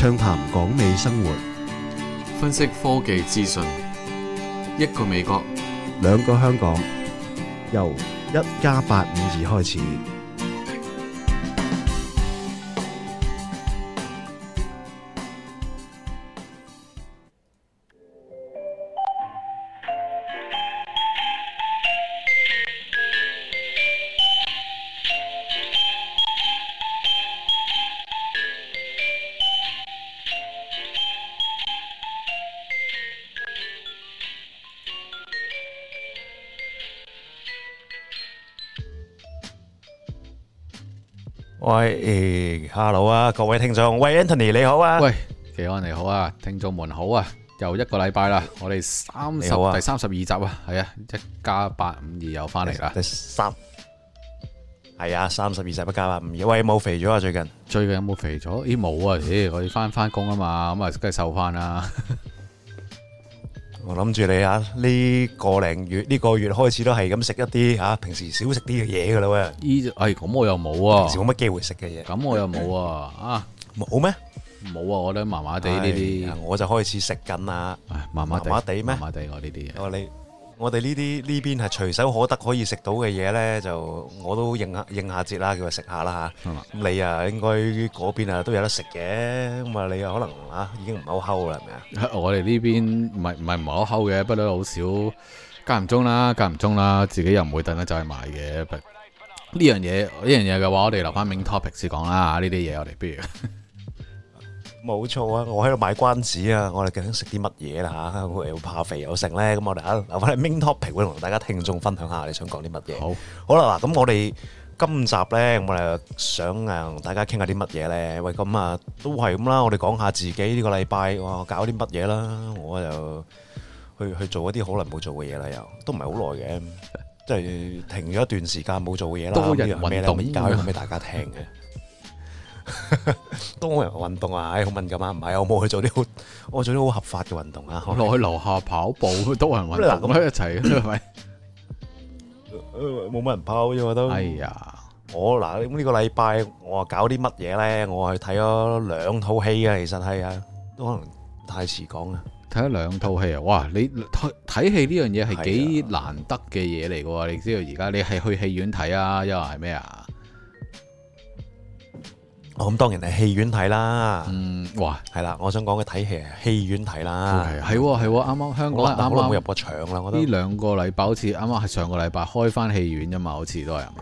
暢談港美生活， 分析科技資訊。一個美國， 兩個香港，由1+852開始。 喂，Hello 啊，各位聽眾，喂 Anthony 你好啊， 喂，技安你好啊，聽眾們好啊，又一個禮拜啦，我哋第32集啊，係啊，1+852又翻嚟啦， 係啊，32集1+852，喂，冇肥咗啊最近？ 最近有冇肥咗？咦冇啊，我哋翻工啊嘛，咁啊梗係瘦翻啦。 我諗住你啊，呢個月開始都係咁食一啲平時少食啲嘅嘢噶啦喂。 咁我又冇啊。 平時冇乜機會食嘅嘢。 咁我又冇啊。啊， 冇咩？ 冇啊，我覺得麻麻地呢啲。 我就開始食緊啦。麻麻地咩？ 麻麻地我呢啲嘢。 我哋呢邊係隨手可得可以食到嘅嘢咧，就我都應下節啦，叫佢食下啦嚇。咁你啊，應該嗰邊啊都有得食嘅，咁啊你啊可能已經唔係好睺啦，係咪啊？ 我哋呢邊唔係好睺嘅，不過好少間唔中啦，自己又唔會等得走去買嘅。呢樣嘢嘅話，我哋留翻 main topic 先講啦。呢啲嘢我哋不如。 冇錯啊！我喺度賣關子啊！我哋究竟食啲乜嘢啦嚇？又怕肥又剩咧，咁我哋留翻啲 main topic 會同大家聽眾分享下你想講啲乜嘢。好啦嗱，咁我哋今集咧，我哋想同大家傾下啲乜嘢咧？喂，咁啊都係咁啦，我哋講下自己呢個禮拜搞啲乜嘢啦。我就去做一啲好耐冇做嘅嘢啦，又都唔係好耐嘅，即係停咗一段時間冇做嘅嘢啦。 多人運動， 而家可以講俾大家聽嘅。多人運動啊，好敏感啊，唔係我冇去做啲我做啲好合法嘅運動啊， 落去樓下跑步，多人運動咁一齊，係咪？ 冇乜人跑啫，我都。哎呀，我嗱呢個禮拜我搞啲乜嘢咧？我去睇咗2套戲啊，其實係啊，都可能太遲講啊。 睇咗2套戲啊！哇，你睇戲呢樣嘢係幾難得嘅嘢嚟噶？你知道而家你係去戲院睇啊，又係咩啊？ 咁當然係戲院睇啦， 哇， 係啦，我想講嘅睇戲係戲院睇啦， 係啱啱香港啱啱冇入過場啦，我覺得呢2個禮拜好似啱啱係上個禮拜開翻戲院啫嘛，好似都係嘛，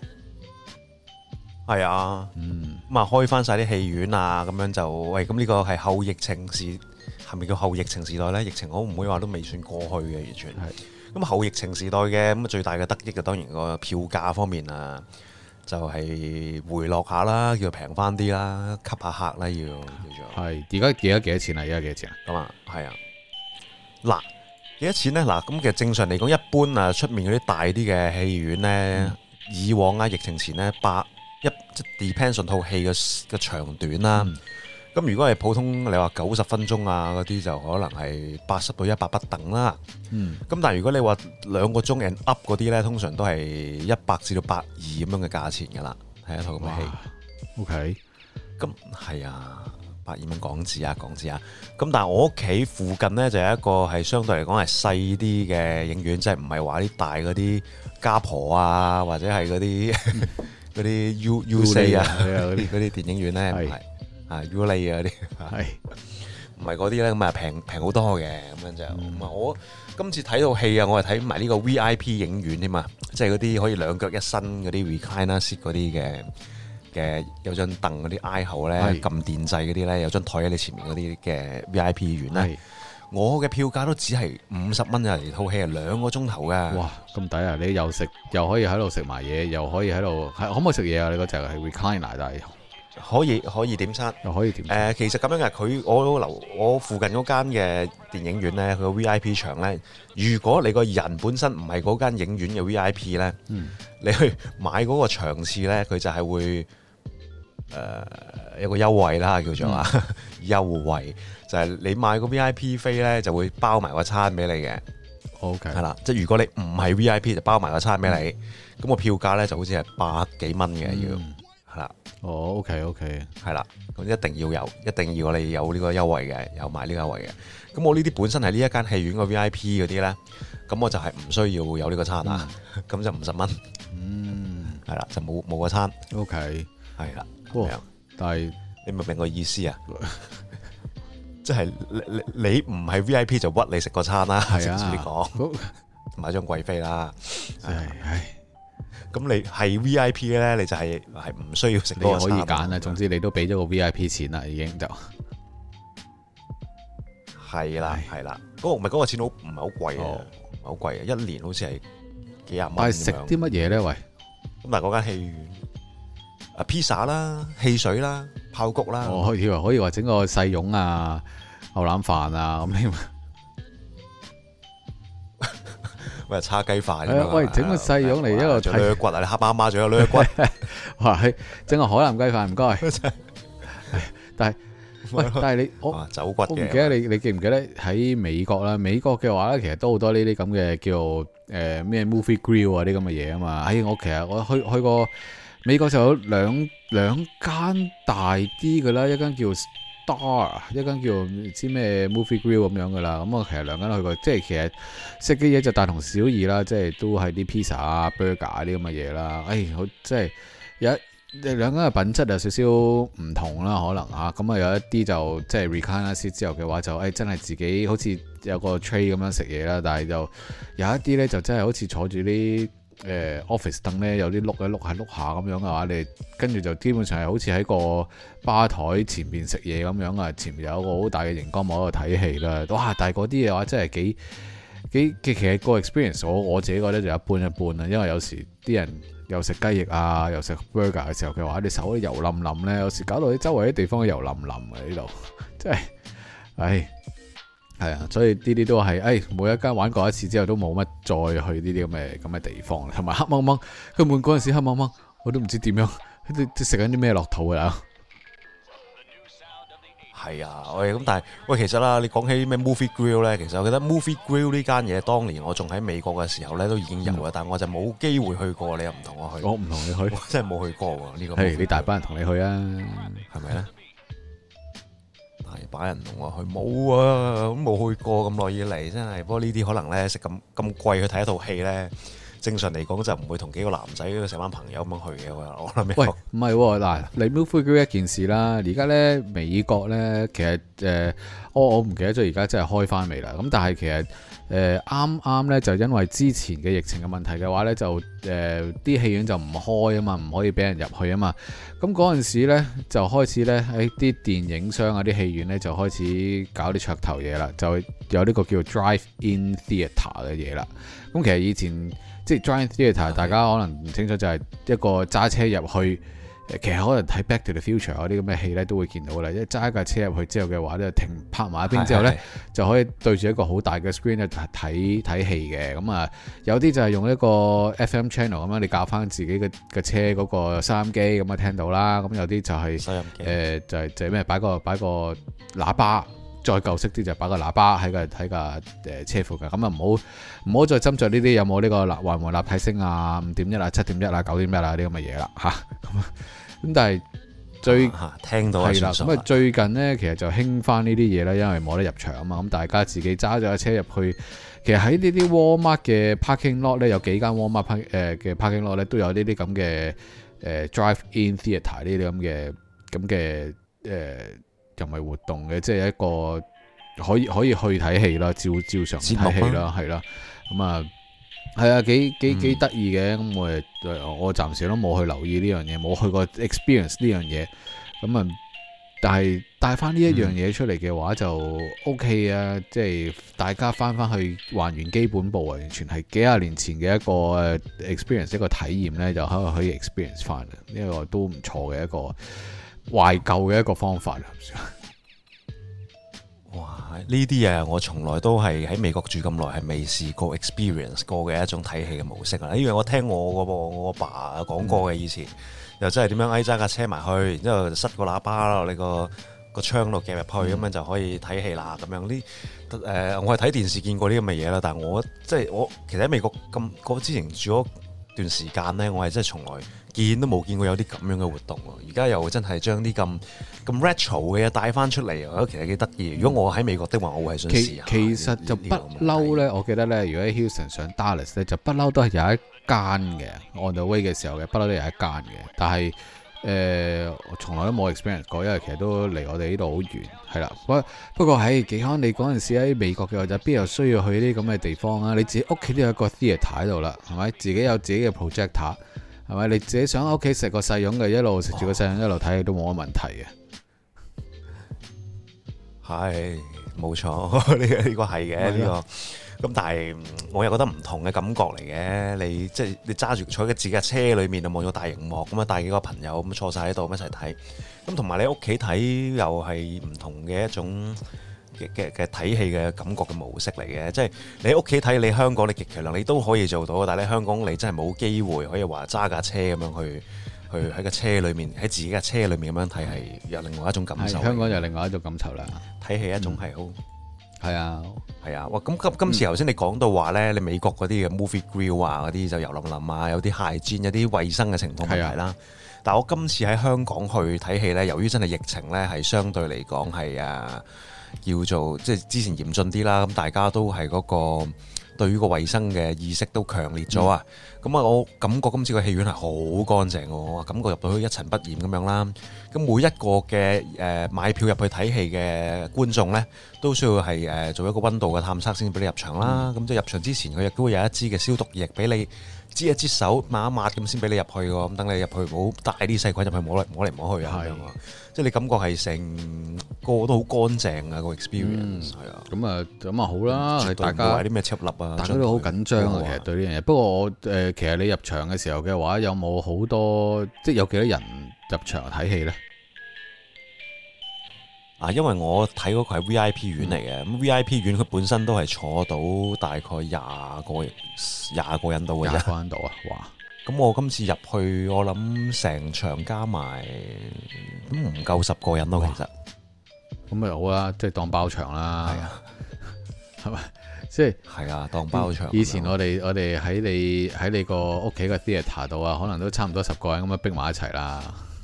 係啊，咁啊開翻晒啲戲院啊，咁樣就喂，咁呢個係後疫情時，係咪叫後疫情時代咧？疫情我唔會話都未算過去嘅，完全係。咁後疫情時代嘅咁最大嘅得益就當然個票價方面啊。就係回落下啦，叫平翻啲啦，吸下客啦，要叫做。 係而家幾多錢啊？而家幾多錢啊？ 咁啊，係啊。嗱，幾多錢咧？嗱，咁其實正常嚟講，一般啊，出面嗰啲大啲嘅戲院咧，以往啊，疫情前咧，depends on 套戲嘅長短啦。咁如果係普通，你話90分鐘啊嗰啲就可能係80到100不等啦。咁但係如果你話2個鐘 and up 嗰啲咧，通常都係100至到120咁樣嘅價錢㗎啦，係一套咁嘅戲。 OK， 咁係啊，120蚊港紙啊。咁但係我屋企附近咧就有一個係相對嚟講係細啲嘅影院，即係唔係話啲大嗰啲家婆啊，或者係嗰啲 U4 啊嗰啲電影院咧，唔係。Uly 啊啲係唔係嗰啲咧？咁啊平好多嘅，咁樣就我今次睇套戲啊，我係睇埋呢個 VIP 影院添嘛，即係嗰啲可以2腳一伸嗰啲 recliner seat 嗰啲嘅有張凳嗰啲挨後咧，撳電掣嗰啲咧，有張台喺你前面嗰啲嘅 VIP 院咧，我嘅票價都只係50蚊啊！嚟套戲係2個鐘頭㗎。哇， 咁抵啊！你又食又可以喺度食埋嘢，又可以喺度可唔可以食嘢啊？你嗰隻係 recliner 但係。 可以點餐， 又可以點餐。 其實咁樣嘅，我附近嗰間嘅電影院咧，佢個 VIP 場咧，如果你個人本身唔係嗰間影院嘅 VIP 咧，你去買嗰個場次咧，佢就係會有個優惠啦，叫做優惠就係你買個 VIP 飛咧，就會包埋個餐俾你嘅。OK， 係啦，即係如果你唔係 VIP 就包埋個餐俾你，咁個票價咧就好似係100幾蚊嘅要。 係啦。 哦，OK， 係啦，咁一定要你有呢個優惠嘅，有買呢個優惠嘅。咁我呢啲本身係呢一間戲院個 VIP 嗰啲咧，咁我就係唔需要有呢個餐啊，咁就50蚊。係啦，就冇個餐。 OK， 係啦。 但係你明唔明個意思啊？即係你唔係 VIP 就屈你食個餐啦，直接講買張貴飛啦。咁你係 VIP 咧，你就係唔需要食嗰個餐。 你可以揀啊，總之你都俾咗個 VIP 錢啦，已經就係啦。嗰個錢唔係好貴啊，唔係好貴啊，一年好似係幾廿蚊。 但係食啲乜嘢咧？喂， 咁但係嗰間戲院披薩啦、汽水啦、爆谷啦。 我以為可以話整個細蓉啊、牛腩飯啊咁添。 喂，叉雞飯喂，整個細蓉嚟一個睇攣骨啊！你黑媽媽仲有攣骨， 哇！整個海南雞飯唔該。但係你走骨嘅。我唔記得你記唔記得喺美國啦？美國嘅話咧，其實都好多呢啲咁嘅叫咩 movie grill 啊啲咁嘅嘢啊嘛。我去過美國就有兩間大啲嘅啦，一間叫一間叫唔知咩 movie grill 咁樣噶啦，咁我其實兩間去過，即係其實食嘅嘢就大同小異啦，即係都係啲 pizza 啊、burger 啊啲咁嘅嘢啦。好即係有兩間嘅品質有少少唔同啦，可能嚇咁啊有一啲就即係 recline 咗之後嘅話就真係自己好似有個 tray 咁樣食嘢啦，但係就有一啲咧就真係好似坐住啲office 凳咧，有啲碌下咁樣嘅話，你跟住就基本上係好似喺個吧台前面食嘢咁樣啊，前面有一個好大嘅熒光幕喺度睇戲啦。哇！但係嗰啲嘅話真係幾其實個 experience 我自己覺得就一般啦，因為有時啲人又食雞翼啊，又食 burger 嘅時候嘅話，你手啲油冧冧咧，有時搞到你周圍啲地方油冧冧嘅呢度，真係係啊，所以呢啲都係每一間玩過一次之後都冇乜再去呢啲咁嘅地方，同埋黑掹掹，根本嗰陣時黑掹掹，我都唔知點樣，食緊啲咩落肚㗎。 係啊，咁但係其實啦，你講起咩 movie grill 咧，其實我記得 movie grill 呢間嘢，當年我仲喺美國嘅時候咧都已經有啦，但我就冇機會去過，你又唔同我去。 我唔同你去， 我真係冇去過喎呢個。 你大班人同你去啊， 係咪咧？大把人同我去，冇啊，咁冇去過咁耐以嚟，真係。不過呢啲可能咧食咁貴去睇一套戲咧，正常嚟講就唔會同幾個男仔成班朋友咁樣去嘅。我諗。喂， 唔係喎，嗱，你 movie grill 一件事啦，而家咧美國咧其實我唔記得咗而家真係開翻未啦。咁但係其實啱咧就因為之前嘅疫情嘅問題嘅話咧，就啲戲院就唔開啊嘛，唔可以俾人入去啊嘛。咁嗰陣時咧就開始咧喺啲電影商啊、啲戲院咧就開始搞啲噱頭嘢啦，就有呢個叫 drive-in theatre 嘅嘢啦。咁其實以前即係 drive-in theatre，大家可能唔清楚，就係一個揸車入去。其實可能睇 Back to the Future 嗰啲咁嘅戲咧，都會見到啦。一揸架車入去之後嘅話咧，泊埋一邊之後咧，就可以對住一個好大嘅 screen 咧睇戲嘅。咁啊，有啲就係用一個 FM channel 咁樣，你校翻自己嘅車嗰個收音機咁啊聽到啦。咁有啲就係收音機就係咩擺個喇叭，再舊式啲就擺個喇叭喺個車附近。咁啊唔好再斟酌呢啲有冇呢個環迴立體聲啊、5.1啊、7.1啊、9.1啊啲咁嘅嘢啦嚇。咁但係聽到係啦， 咁啊最近咧其實就興翻呢啲嘢啦，因為冇得入場啊嘛，咁大家自己揸咗架車入去，其實喺呢啲 Walmart 嘅 parking lot 咧，有幾間 Walmart 嘅 parking lot 咧都有呢啲咁嘅drive-in theatre 呢啲咁嘅人為活動嘅，即係一個可以去睇戲啦，照常睇戲啦，係啦，咁啊。係啊，幾得意嘅，咁我暫時都冇去留意呢樣嘢，冇去過 experience 呢樣嘢，咁啊，但係帶翻呢一樣嘢出嚟嘅話就 OK 啊，即係大家翻去還原基本步，完全係幾廿年前嘅一個 experience 一個體驗咧，就可以 experience 翻，呢個都唔錯嘅一個懷舊嘅一個方法。 哇！呢啲嘢我從來都係喺美國住咁耐，係未試過 experience 過嘅一種睇戲嘅模式啊！因為我聽我阿爸講過嘅，以前又真係點樣揸架車埋去，然之後塞個喇叭啦，你個窗度夾入去，咁樣就可以睇戲啦。咁樣我係睇電視見過呢咁嘅嘢啦，但係我其實喺美國之前住咗段時間呢，我係真係從來見都冇見過有啲咁樣嘅活動喎。而家又真係將啲咁 retro 嘅嘢帶翻出嚟，我覺得其實幾得意。如果我喺美國的話，我會係想試下。 其實就不嬲咧，我記得咧，如果喺 Houston 上 Dallas 咧，就不嬲都係有一間嘅 on the way 嘅時候嘅，不嬲都有一間嘅。但係我從來都冇 experience 過，因為其實都離我哋呢度好遠，係啦。不過喺幾可你嗰陣時喺美國嘅話，就邊有需要去啲咁嘅地方啊？你自己屋企都有一個 theatre 喺度啦，係咪？自己有自己嘅 projector， 係咪？你自己想喺屋企食個細樣嘅，一路食住個細樣一路睇都冇乜問題嘅。 係冇錯，呢個係嘅呢個。咁但係我又覺得唔同嘅感覺嚟嘅，你即係你揸住坐喺自己嘅車裏面就望咗大螢幕咁啊，帶幾個朋友咁坐晒喺度一齊睇，咁同埋你屋企睇又係唔同嘅一種嘅睇戲嘅感覺嘅模式嚟嘅，即係你喺屋企睇，你香港你極其量你都可以做到，但係你香港你真係冇機會可以話揸架車咁樣去喺個車裏面喺自己嘅車裏面咁樣睇係有另外一種感受。香港有另外一種感受啦，睇戲一種係好。係啊，係啊，哇！咁今次頭先你講到話咧，你美國嗰啲嘅 movie grill 啊，嗰啲就油淋淋啊，有啲hygiene，有啲衛生嘅情況問題啦。但係我今次喺香港去睇戲咧，由於真係疫情咧，係相對嚟講係叫做即係之前嚴峻啲啦，咁大家都係嗰個對於個衛生嘅意識都強烈咗啊！咁我感覺今次個戲院係好乾淨嘅，我感覺入到去一塵不染咁樣啦。咁每一個嘅買票入去睇戲嘅觀眾呢，都需要係做一個溫度嘅探測先俾你入場啦。咁即係入場之前，佢亦都會有一支嘅消毒液俾你擠一擠手抹一抹咁先俾你入去喎。咁等你入去唔好帶啲細菌入去摸嚟摸去啊！即係你感覺係成個都好乾淨啊個 experience 係啊。咁啊好啦，大家啲咩插粒啊，大家都好緊張啊。其實對呢樣嘢，不過我其實你入場嘅時候嘅話，有冇好多即係有幾多人入場睇戲呢？因為我睇嗰個係 VIP 院嚟嘅，咁 VIP 院佢本身都係坐到大概20個人到嘅啫。20個人到啊！哇！咁我今次入去，我諗成場加埋都唔夠10個人咯，其實。咁咪好啦，即係當包場啦。係啊，係咪？即係係啊，當包場。以前我哋喺你個屋企嘅 theatre 度啊，可能都差唔多10個人咁樣逼埋一齊啦。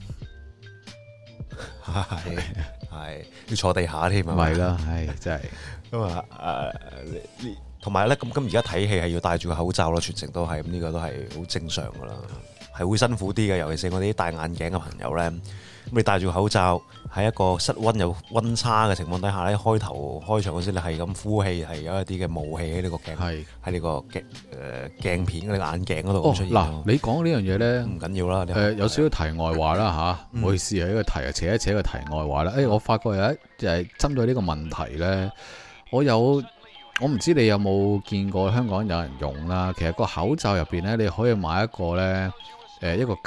係要坐地下添啊！咪啦，係真係咁啊！同埋咧，咁而家睇戲係要戴住個口罩咯，全程都係咁，呢個都係好正常噶啦，係會辛苦啲嘅，尤其是我哋啲戴眼鏡嘅朋友咧。咁你戴住個口罩喺一個室溫有溫差嘅情況底下咧，開頭開場嗰時你係咁呼氣，係有一啲嘅霧氣喺呢個鏡喺呢個鏡片呢個眼鏡嗰度出現。嗱，你講呢樣嘢咧唔緊要啦。有少少題外話啦嚇，唔好意思啊，呢個題啊，扯一扯個題外話啦。我發覺有一就係針對呢個問題咧，我唔知你有冇見過香港有人用啦。其實個口罩入邊咧，你可以買一個咧一個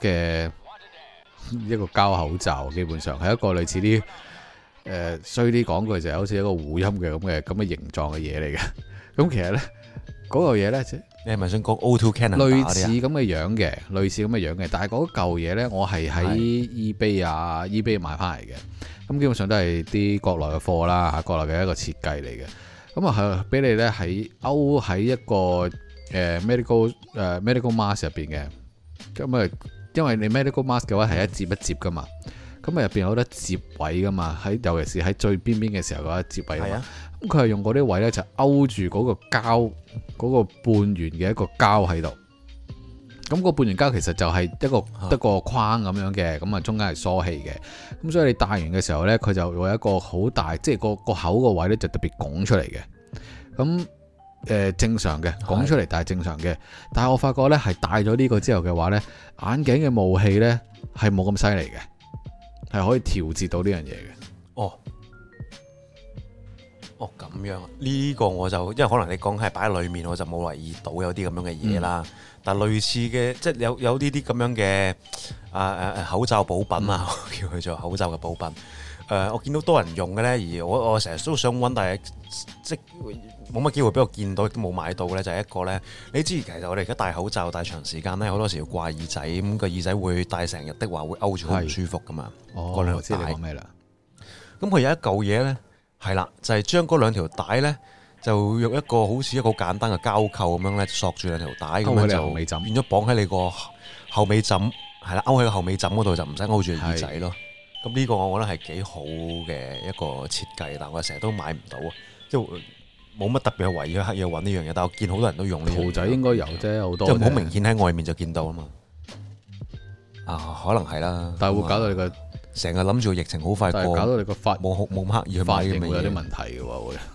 膠口罩，基本上係一個類似啲衰啲講句就係好似一個護陰嘅咁嘅形狀嘅嘢嚟嘅。咁其實咧嗰個嘢咧，你係咪想講 O2 Canada 類似咁嘅樣嘅？但係嗰嚿嘢咧，我係喺 eBay 買翻嚟嘅。咁基本上都係啲國內嘅貨啦嚇，國內嘅一個設計嚟嘅。咁啊係俾你咧勾喺一個medical mask 入邊嘅。咁啊〜因為你 medical mask 嘅話係一接一接噶嘛，咁啊入邊有得接位噶嘛，尤其是喺最邊邊嘅時候嗰一接位啊嘛，咁佢係用嗰啲位咧就勾住嗰個膠嗰個半圓嘅一個膠喺度，咁個半圓膠其實就係一個框咁樣嘅，咁啊中間係疏氣嘅，咁所以你戴完嘅時候咧，佢就會有一個好大，即係個口個位咧就特別拱出嚟嘅，咁。正常嘅講出嚟，但係正常嘅。但係我發覺咧，係戴咗呢個之後嘅話咧，眼鏡嘅霧氣咧係冇咁犀利嘅，係可以調節到呢樣嘢嘅。哦，咁樣呢個我就因為可能你講係擺喺裏面，我就冇留意到有啲咁樣嘅嘢啦。但係類似嘅，即係有呢啲咁樣嘅口罩補品啊，叫佢做口罩嘅補品。我見到多人用嘅咧，而我成日都想揾，但係即冇乜機會俾我見到，都冇買到咧。就係一個咧，你知其實我哋而家戴口罩戴長時間咧，好多時要掛耳仔，咁個耳仔會戴成日的話會勾住好唔舒服噶嘛。嗰兩條帶。我知你講咩啦？咁佢有一嚿嘢咧，係啦，就係將嗰兩條帶咧， 就用一個好似一個好簡單嘅膠扣咁樣咧，索住兩條帶咁樣就變咗綁喺你個後尾枕，係啦，勾喺個後尾枕嗰度就唔使勾住耳仔咯。咁呢個我覺得係幾好嘅一個設計，但我成日都買唔到啊，即係冇乜特別嘅圍刻意揾呢樣嘢，但我見好多人都用呢樣嘢。兔仔應該有啫，好多即係好明顯喺外面就見到啊嘛。啊，可能係啦，但係會搞到你個成日諗住疫情好快過，搞到你個冇刻意去買嘅嘢，會有啲問題嘅喎會。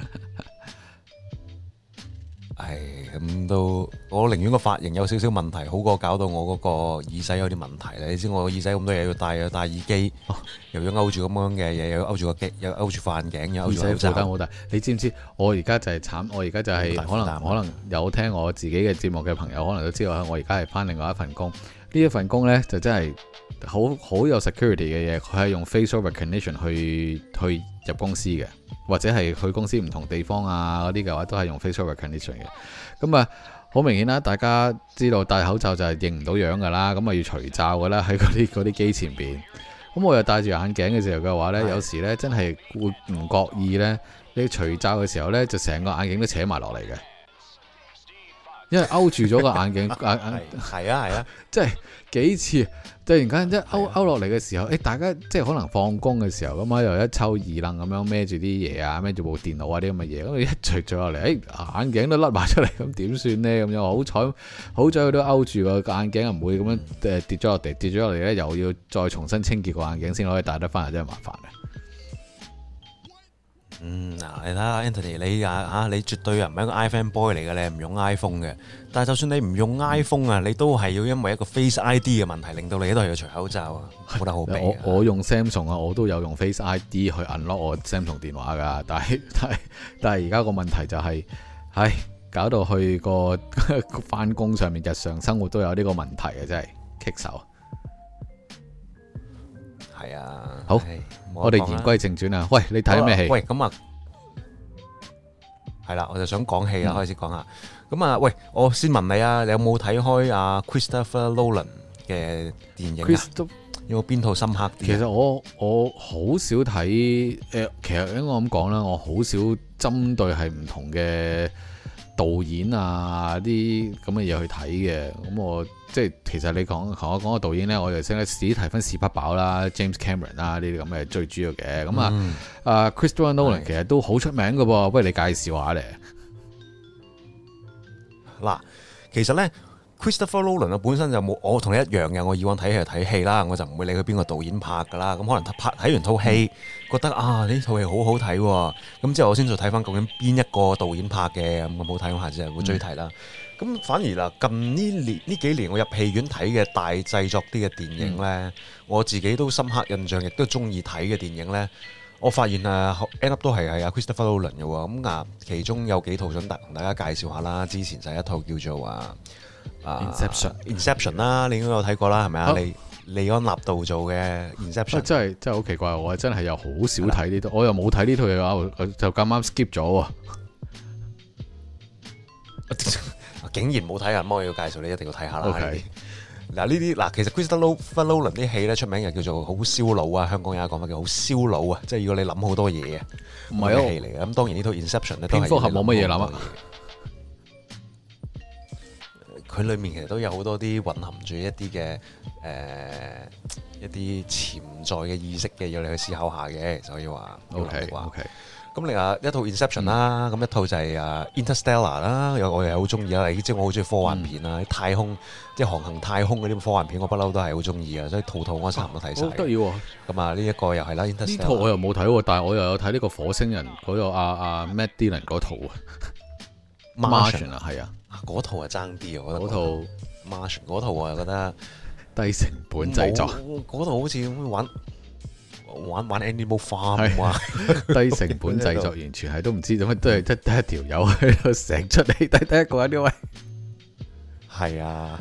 係咁都，我寧願個髮型有少少問題，好過搞到我嗰個耳仔有啲問題咧。你知我耳仔咁多嘢要戴，又戴耳機，又要勾住咁樣嘅嘢，又要勾住個機，又勾住副眼鏡，又勾住口罩。耳仔負擔好大。你知唔知？我而家就係慘，我而家就係可能有聽我自己嘅節目嘅朋友，可能都知道我而家係返另外一份工。呢一份工呢，就真係好有 security 嘅嘢，佢係用 facial recognition 去入公司嘅，或者係去公司唔同地方啊嗰啲嘅話，都係用 facial recognition 嘅。咁啊，好明顯啦，大家知道戴口罩就係認唔到樣噶啦，咁啊要除罩噶啦喺嗰啲機前邊。咁我又戴住眼鏡嘅時候嘅話呢，有時呢真係會唔覺意呢，你除罩嘅時候呢，就成個眼鏡都扯埋落嚟嘅。因為勾住咗個眼鏡，係啊，即係幾次突然間一勾落嚟嘅時候，大家即係可能放工嘅時候咁啊，又一抽二愣咁樣孭住啲嘢啊，孭住部電腦啊啲咁嘅嘢，咁一除咗落嚟，眼鏡都甩埋出嚟，咁點算呢？咁樣好彩佢都勾住個眼鏡，唔會咁樣跌咗落地，跌咗落嚟咧，又要再重新清潔個眼鏡先可以戴得翻，真係麻煩嘅。嗱，你睇下 Anthony，你絕對唔係一個 iPhone boy 嚟嘅，你唔用 iPhone 嘅。但係就算你唔用 iPhone 啊，你都係要因為一個 Face ID 嘅問題，令到你都係要除口罩啊，冇得好避。我用 Samsung 啊，我都有用 Face ID 去 unlock 我 Samsung 電話㗎，但係而家個問題就係，搞到去個返工上面日常生活都有呢個問題啊，真係棘手。係啊，好，我哋言歸正傳啊。喂，你睇咩戲？喂，咁啊，係啦，我就想講戲啦，開始講下。咁啊，喂，我先問你啊，你有冇睇開阿 Christopher Nolan 嘅電影啊？有冇邊套深刻啲？其實我好少睇，其實應該咁講啦，我好少針對係唔同嘅導演啊啲咁嘅嘢去睇嘅。咁我即係其實你同我講個導演咧，我就識得史提芬史匹堡啦、James Cameron 啦呢啲咁嘅最主要嘅。咁Christopher Nolan 其實都好出名嘅噃，不如你介紹下咧。嗱，其實咧 Christopher Nolan 本身就冇我同你一樣嘅，我以往睇戲就睇戲啦，我就唔會理佢邊個導演拍噶啦。咁可能睇完套戲，覺得呢套戲好好睇喎，咁之後我先再睇翻究竟邊一個導演拍嘅咁好睇，我下次就會追睇啦。咁反而啦，近呢幾年我入戲院睇嘅大製作啲嘅電影呢，我自己都深刻印象，亦都中意睇嘅電影呢，我發現end up 都係阿 Christopher Nolan 嘅喎。咁其中有幾套想同大家介紹下啦。之前就係一套叫做Inception 啦，你應該有睇過啦，係咪啊？利安納度做嘅 Inception，真係好奇怪，我真係又好少睇呢套，我又冇睇呢套嘢嘅話，我就咁啱 skip 咗喎。竟然冇睇啊！咁我要介紹你一定要睇下啦。嗱呢啲其實 Christopher Nolan 啲戲咧出名又叫做好燒腦啊！香港有一個講法叫好燒腦啊，即係如果你諗好多嘢啊，唔係戲嚟嘅。咁當然呢套 Inception 咧，蝙蝠俠冇乜嘢諗啊。佢裏面其實都有好多啲蘊含住一啲嘅一啲潛在嘅意識嘅，要你去思考下嘅，所以話 OK。咁另外一套 Inception 啦，咁一套就係Interstellar 啦，我又好中意啦。你知我好中意科幻片啊，太空即係航行太空嗰啲科幻片，我不嬲都係好中意啊，所以套我差唔多睇晒。好得意喎！咁呢一個又係啦 ，Interstellar 呢套我又冇睇喎，但係我又有睇呢個火星人嗰個Matt Dillon 嗰套啊 ，Martian 啊，係啊，嗰套係爭啲啊，我覺得嗰套 Martian 嗰套我又覺得低成本製作，嗰套好似玩 Animal Farm 啊，低成本製作，完全係都唔知做乜，都係得一條友喺度成出嚟，得一個人呢位。係啊，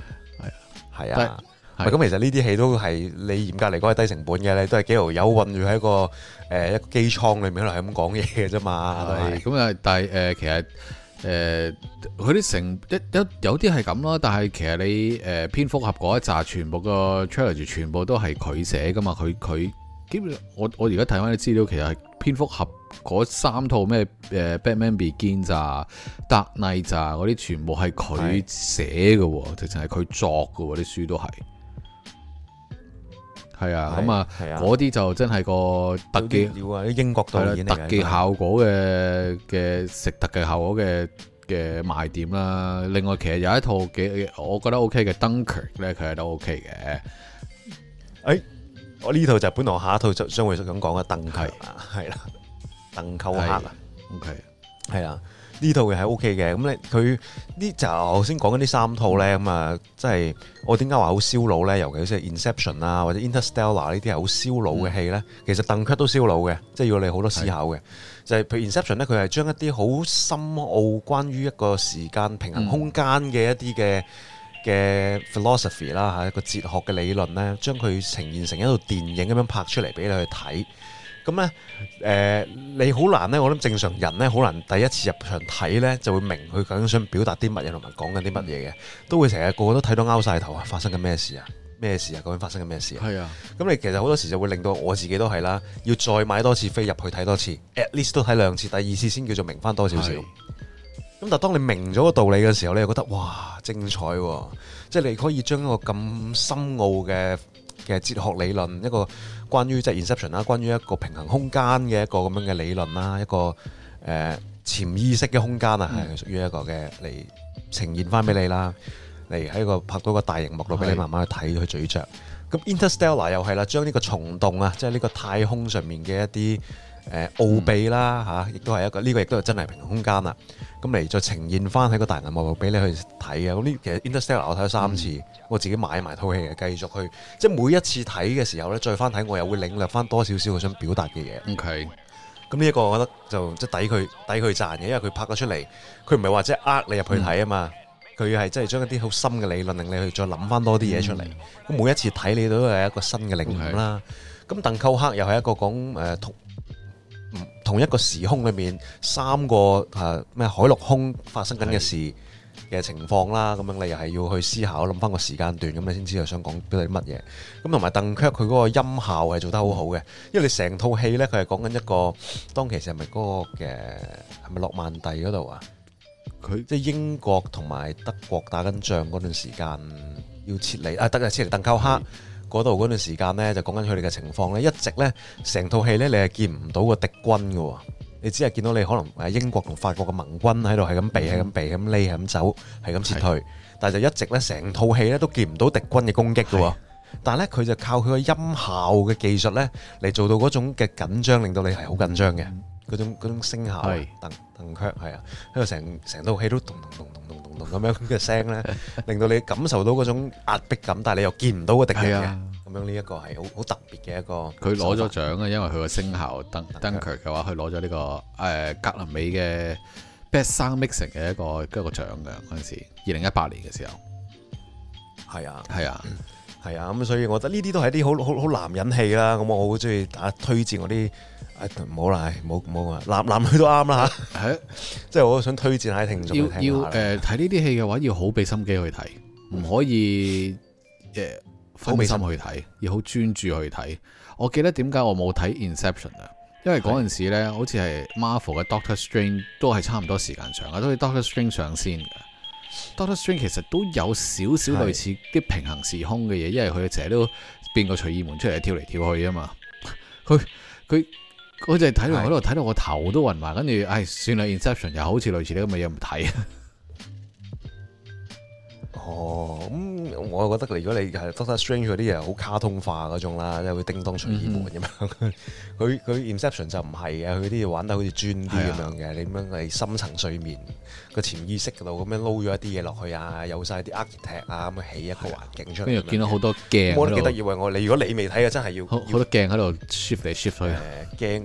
咁其實呢啲戲都係你嚴格嚟講係低成本嘅，你都係幾條友困住喺一個機艙裏面喺度係咁講嘢嘅啫嘛。咁啊，但係其實佢啲有啲係咁咯，但係其實你蝙蝠俠嗰一紮全部個 trilogy 全部都係佢寫噶嘛，佢基本我而家睇翻啲資料，其實係蝙蝠俠嗰三套咩Batman Begins 啊、Dark Knight 啊嗰啲全部係佢寫嘅喎，直情係佢作嘅喎，啲書都係。係啊，咁啊，嗰啲就真係個特技料啊，啲英國導演嚟嘅特技效果嘅食特技效果嘅賣點啦。另外，其實有一套我覺得 OK 嘅 Dunkirk 咧，佢係都 OK 嘅。 我呢套就本來下一套就將會咁講嘅鄧克啊，係啦，鄧寇克啊 ，OK， 係啦。呢套嘅係 O K 嘅，咁咧佢呢就頭先講緊呢三套咧，咁啊，即係我點解話好燒腦咧？尤其是 Inception 啊，或者 Interstellar 呢啲係好燒腦嘅戲咧。其實鄧克都燒腦嘅，即係要你好多思考嘅。就係譬如 Inception 咧，佢係將一啲好深奧關於一個時間平衡空間嘅一啲嘅 philosophy 啦嚇，一個哲學嘅理論咧，將佢呈現成一套電影咁樣拍出嚟俾你去睇。咁咧，你好難咧，我諗正常人咧，好難第一次入場睇咧，就會明佢究竟想表達啲乜嘢同埋講緊啲乜嘢嘅，都會成日個個都睇到拗晒頭啊！發生緊咩事啊？咩事啊？究竟發生緊咩事啊？係啊！咁你其實好多時就會令到我自己都係啦，要再買多次飛入去睇多次 ，at least 都睇兩次，第二次先叫做明翻多少少。咁但係當你明咗個道理嘅時候，你又覺得哇精彩喎！即係你可以將一個咁深奧嘅哲學理論，一個關於即係 Inception 啦，關於一個平衡空間嘅一個咁樣嘅理論啦，一個潛意識嘅空間啊，係屬於一個嘅嚟呈現翻俾你啦，嚟喺個拍到個大熒幕度俾你慢慢去睇去咀嚼。咁 Interstellar 又係啦，將呢個蟲洞啊，即係呢個太空上面嘅一啲奧秘啦嚇，亦都係一個呢個亦都係真係平衡空間啦。咁嚟再呈現翻喺個大銀幕度俾你去睇啊！咁呢其實 Interstellar 我睇咗3次，我自己買埋套戲嘅，繼續去即係每一次睇嘅時候咧，再翻睇我又會領略翻多少少佢想表達嘅嘢。OK，咁呢一個我覺得就即係抵佢賺嘅，因為佢拍咗出嚟，佢唔係話即係呃你入去睇啊嘛，佢係真係將一啲好深嘅理論令你去再諗翻多啲嘢出嚟。咁每一次睇你都係一個新嘅領悟啦。咁鄧寇克又係一個講同一個時空裏面3個咩海陸空發生緊嘅事嘅情況啦，咁樣你又係要去思考諗翻個時間段，咁你先知道想講表達啲乜嘢。咁同埋鄧克佢嗰個音效係做得好好嘅，因為你成套戲呢，佢係講緊一個當其時係咪嗰個嘅係咪諾曼第嗰度啊？佢即係英國同埋德國打緊仗嗰段時間要撤離撤離鄧寇克。嗰度嗰段時間呢，就講緊佢哋嘅情況呢，一直呢，成套戲呢，你係見唔到個敵軍嘅喎，你只係見到你可能英國同法國嘅盟軍喺度係咁避、係咁避、係咁匿、係咁走、係咁撤退，但係就一直呢，成套戲呢都見唔到敵軍嘅攻擊嘅喎。但係呢，佢就靠佢個音效嘅技術呢嚟做到嗰種嘅緊張，令到你係好緊張嘅嗰種聲效。鄧克係啊，喺度成套戲都咚咚咚咚咚咚咁樣嘅聲咧，令到你感受到嗰種壓迫感，但係你又見唔到個敵人嘅。咁樣呢一個係好特別嘅一個。佢攞咗獎啊，因為佢個聲效Dunkirk嘅話，佢攞咗呢個格林美嘅 Best Sound Mixing 嘅一個獎嘅嗰陣時，2018年嘅時候。係啊，咁所以我覺得呢啲都係啲好男人戲啦。咁我好中意大家推薦我啲。唔好啦，冇啊，男女都啱啦嚇，即係我想推薦下聽眾去聽下。睇呢啲戲嘅話，要好俾心機去睇，唔可以分心去睇，要好專注去睇。我記得點解我冇睇 Inception 啊？因為嗰陣時咧，好似係 Marvel 嘅 Doctor Strange 都係差唔多時間上嘅，都係 Doctor Strange 上先嘅。Doctor Strange 其實都有少少類似啲平行時空嘅嘢，因為佢成日都變個隨意門出嚟跳嚟跳去啊嘛。佢我就係睇到嗰度睇到我頭都暈埋，跟住算啦 Inception 又好似類似呢咁嘅嘢唔睇。咁我覺得如果你係 Doctor Strange 嗰啲嘢好卡通化嗰種啦，即係會叮當隨意門咁樣。佢 Inception 就唔係嘅，佢啲嘢玩得好似專啲咁樣嘅。你咁樣係深層睡眠個潛意識嗰度咁樣撈咗一啲嘢落去啊，有晒啲 architect 啊咁樣起一個環境出嚟。跟住見到好多鏡，我都記得以為你如果你未睇嘅真係要好多鏡喺度 shift 嚟 shift 去。鏡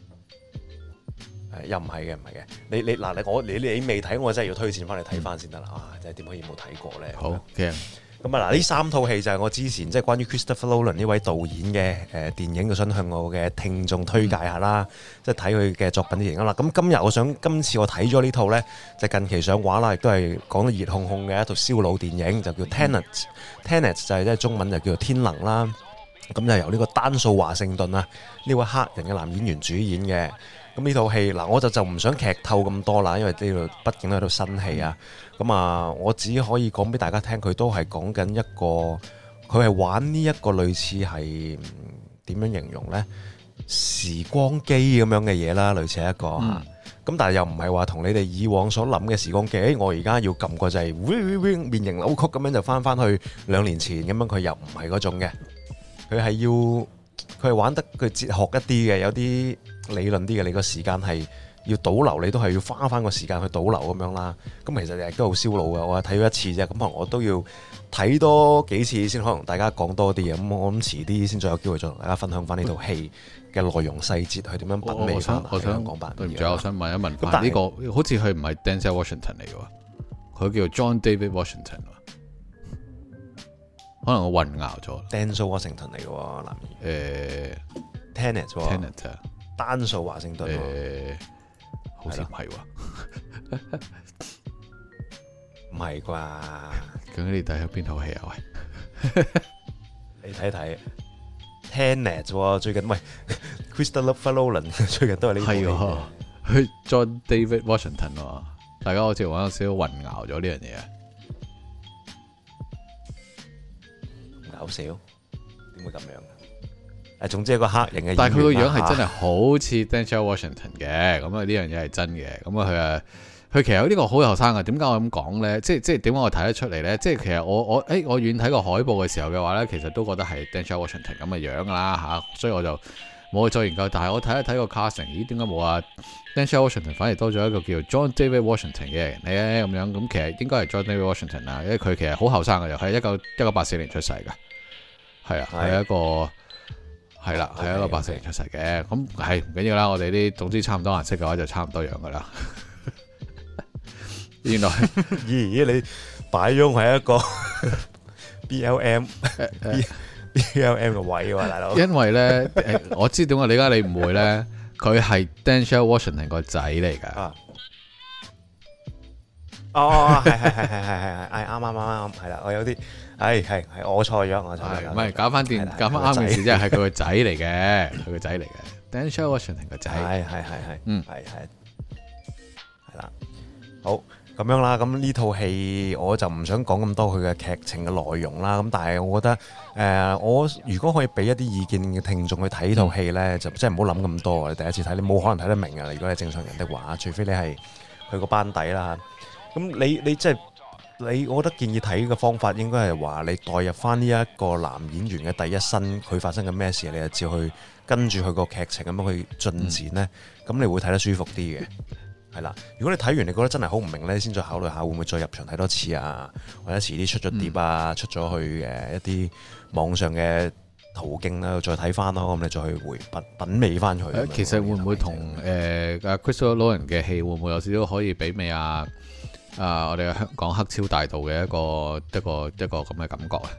又唔係嘅，你未睇，我真係要推薦翻嚟睇翻先得啦。真係點可以冇睇過咧？好嘅。咁啊，呢3套戲就係我之前即係關於 Christopher Nolan 呢位導演嘅電影，就想向我嘅聽眾推介下啦。即係睇佢嘅作品啲影啦。咁今次我睇咗呢套咧，就近期上畫啦，亦都係講到熱烘烘嘅一套燒腦電影，就叫 Tenet。Tenet 就係即係中文就叫做天能啦。咁就由呢個丹素華盛頓啊呢位黑人嘅男演員主演嘅。 咁呢套戲嗱，我就唔想劇透咁多啦，因為呢度畢竟係套新戲啊。咁我只可以講俾大家聽，佢都係講緊一個，佢係玩呢一個類似係點樣形容呢？時光機咁樣嘅嘢啦，類似一個嚇。咁但係又唔係話同你哋以往所諗嘅時光機，我而家要撳個掣，變形扭曲咁樣就翻去2年前咁樣，佢又唔係嗰種嘅。佢係玩得佢哲學一啲嘅，有啲理論啲嘅。你個時間係要倒流，你都係要花翻個時間去倒流咁樣啦。咁其實亦都好燒腦嘅。我係睇咗一次啫，咁可能我都要睇多幾次先，可能大家講多啲嘅。咁我諗遲啲先再有機會再同大家分享翻呢套戲嘅內容細節，去點樣品味翻香港版。對唔住，我想問一問，但係呢個好似佢唔係 Denzel Washington 嚟嘅喎，佢叫做 John David Washington。可能我混淆咗。Denzel Washington 嚟嘅喎，男演。 Tenet 喎。 Tenet 啊。 丹素華盛頓。 好似唔係喎。 唔係啩？ 究竟你睇咗邊套戲啊？喂， 你睇睇。Tenet 喎，最近喂 Christopher Nolan 最近都係呢套。係喎。 佢 John David Washington 喎，大家好似玩有少少混淆咗呢樣嘢啊。 搞笑，點會咁樣？總之係個黑人嘅， 但係佢個樣係真係好似 Denzel Washington 嘅，咁啊呢樣嘢係真嘅。咁啊佢其實呢個好後生啊。點解我咁講咧？即係點解我睇得出嚟咧？即係其實我遠睇個海報嘅時候嘅話咧，其實都覺得係 Denzel Washington 咁嘅樣啦嚇，所以我就冇去再研究。但係我睇一睇個 casting，咦？點解冇啊 Denzel Washington 反而多咗一個叫 John David Washington 嘅人咧？咁樣咁其實應該係 John David Washington 啊，因為佢其實好後生嘅，又係1984年出世嘅。係啊，係一個係啦，係一個84年出世嘅。咁係唔緊要啦，我哋啲總之差唔多顏色嘅話就差唔多樣噶啦。原來咦你擺咗係一個 BLM 嘅位喎，大佬。因為咧我知點解你唔會咧，佢係 Denzel Washington 個仔嚟噶。 係啱，係啦，我有啲係我錯咗， 唔係搞翻啱嘅事，即係佢個仔嚟嘅，佢個仔嚟嘅 Denzel Washington 個仔，係啦，好咁樣啦。咁呢套戲我就唔想講咁多佢嘅劇情嘅內容啦。咁但係我覺得我如果可以俾一啲意見嘅聽眾去睇呢套戲咧，就真係唔好諗咁多。你第一次睇，你冇可能睇得明啊！如果你係正常人的話，除非你係佢個班底啦。咁你即係我覺得建議睇嘅方法應該係話你代入翻呢一個男演員嘅第一身，佢發生緊咩事，你就照去跟住佢個劇情咁樣去進展呢。咁你會睇得舒服啲嘅，係啦。如果你睇完你覺得真係好唔明呢，先再考慮下會唔會再入場睇多次啊，或者遲啲出咗碟啊，出咗去一啲網上嘅途徑啦，再睇翻咯。咁你再去品味翻佢。其實會唔會同Christopher Nolan嘅戲會唔會有少少可以媲美啊？我哋香港黑超大道嘅一個咁嘅感覺啊！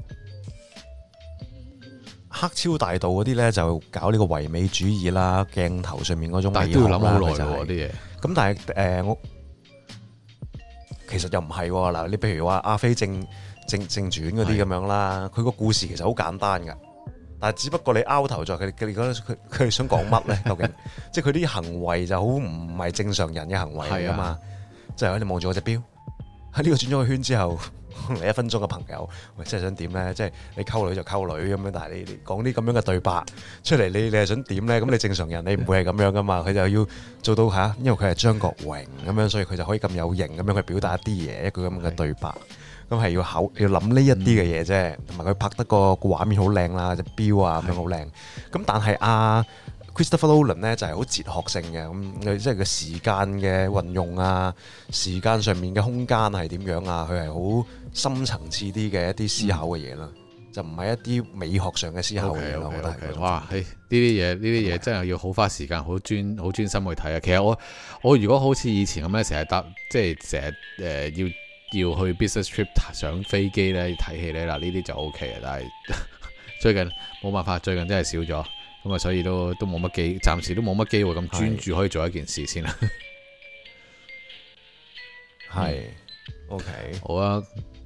黑超大道嗰啲咧就搞呢個唯美主義啦，鏡頭上面嗰種美學啦，但係都要諗好耐喎啲嘢。咁但係我其實又唔係喎嗱，你譬如話《阿飛正傳》嗰啲咁樣啦，佢個故事其實好簡單噶，但係只不過你拗頭在佢覺得佢哋想講乜咧？究竟即係佢啲行為就好唔係正常人嘅行為嚟噶嘛？即係你望住我隻錶，喺呢個轉咗個圈之後，嚟1分鐘嘅朋友，喂，真係想點咧？即係你溝女就溝女咁樣，但係你講啲咁樣嘅對白出嚟，你係想點咧？咁你正常人你唔會係咁樣噶嘛？佢就要做到嚇，因為佢係張國榮咁樣，所以佢就可以咁有型咁樣去表達一啲嘢，一句咁嘅對白，咁係要諗呢一啲嘅嘢啫。同埋佢拍得個畫面好靚啦，隻錶啊咁樣好靚。咁但係Christopher Nolan 咧就係好哲學性嘅，咁即係個時間嘅運用啊，時間上面嘅空間係點樣啊？佢係好深層次啲嘅一啲思考嘅嘢啦，就唔係一啲美學上嘅思考嘅嘢咯。我覺得哇，呢啲嘢真係要好花時間，好專心去睇啊！其實我如果好似以前咁咧，成日搭即係成日要去 business trip 上飛機咧睇戲咧，嗱呢啲就 OK 啊，但係最近冇辦法，最近真係少咗。咁啊，所以都冇乜機，暫時都冇乜機會咁專注可以做一件事先啦。係，OK，好啊。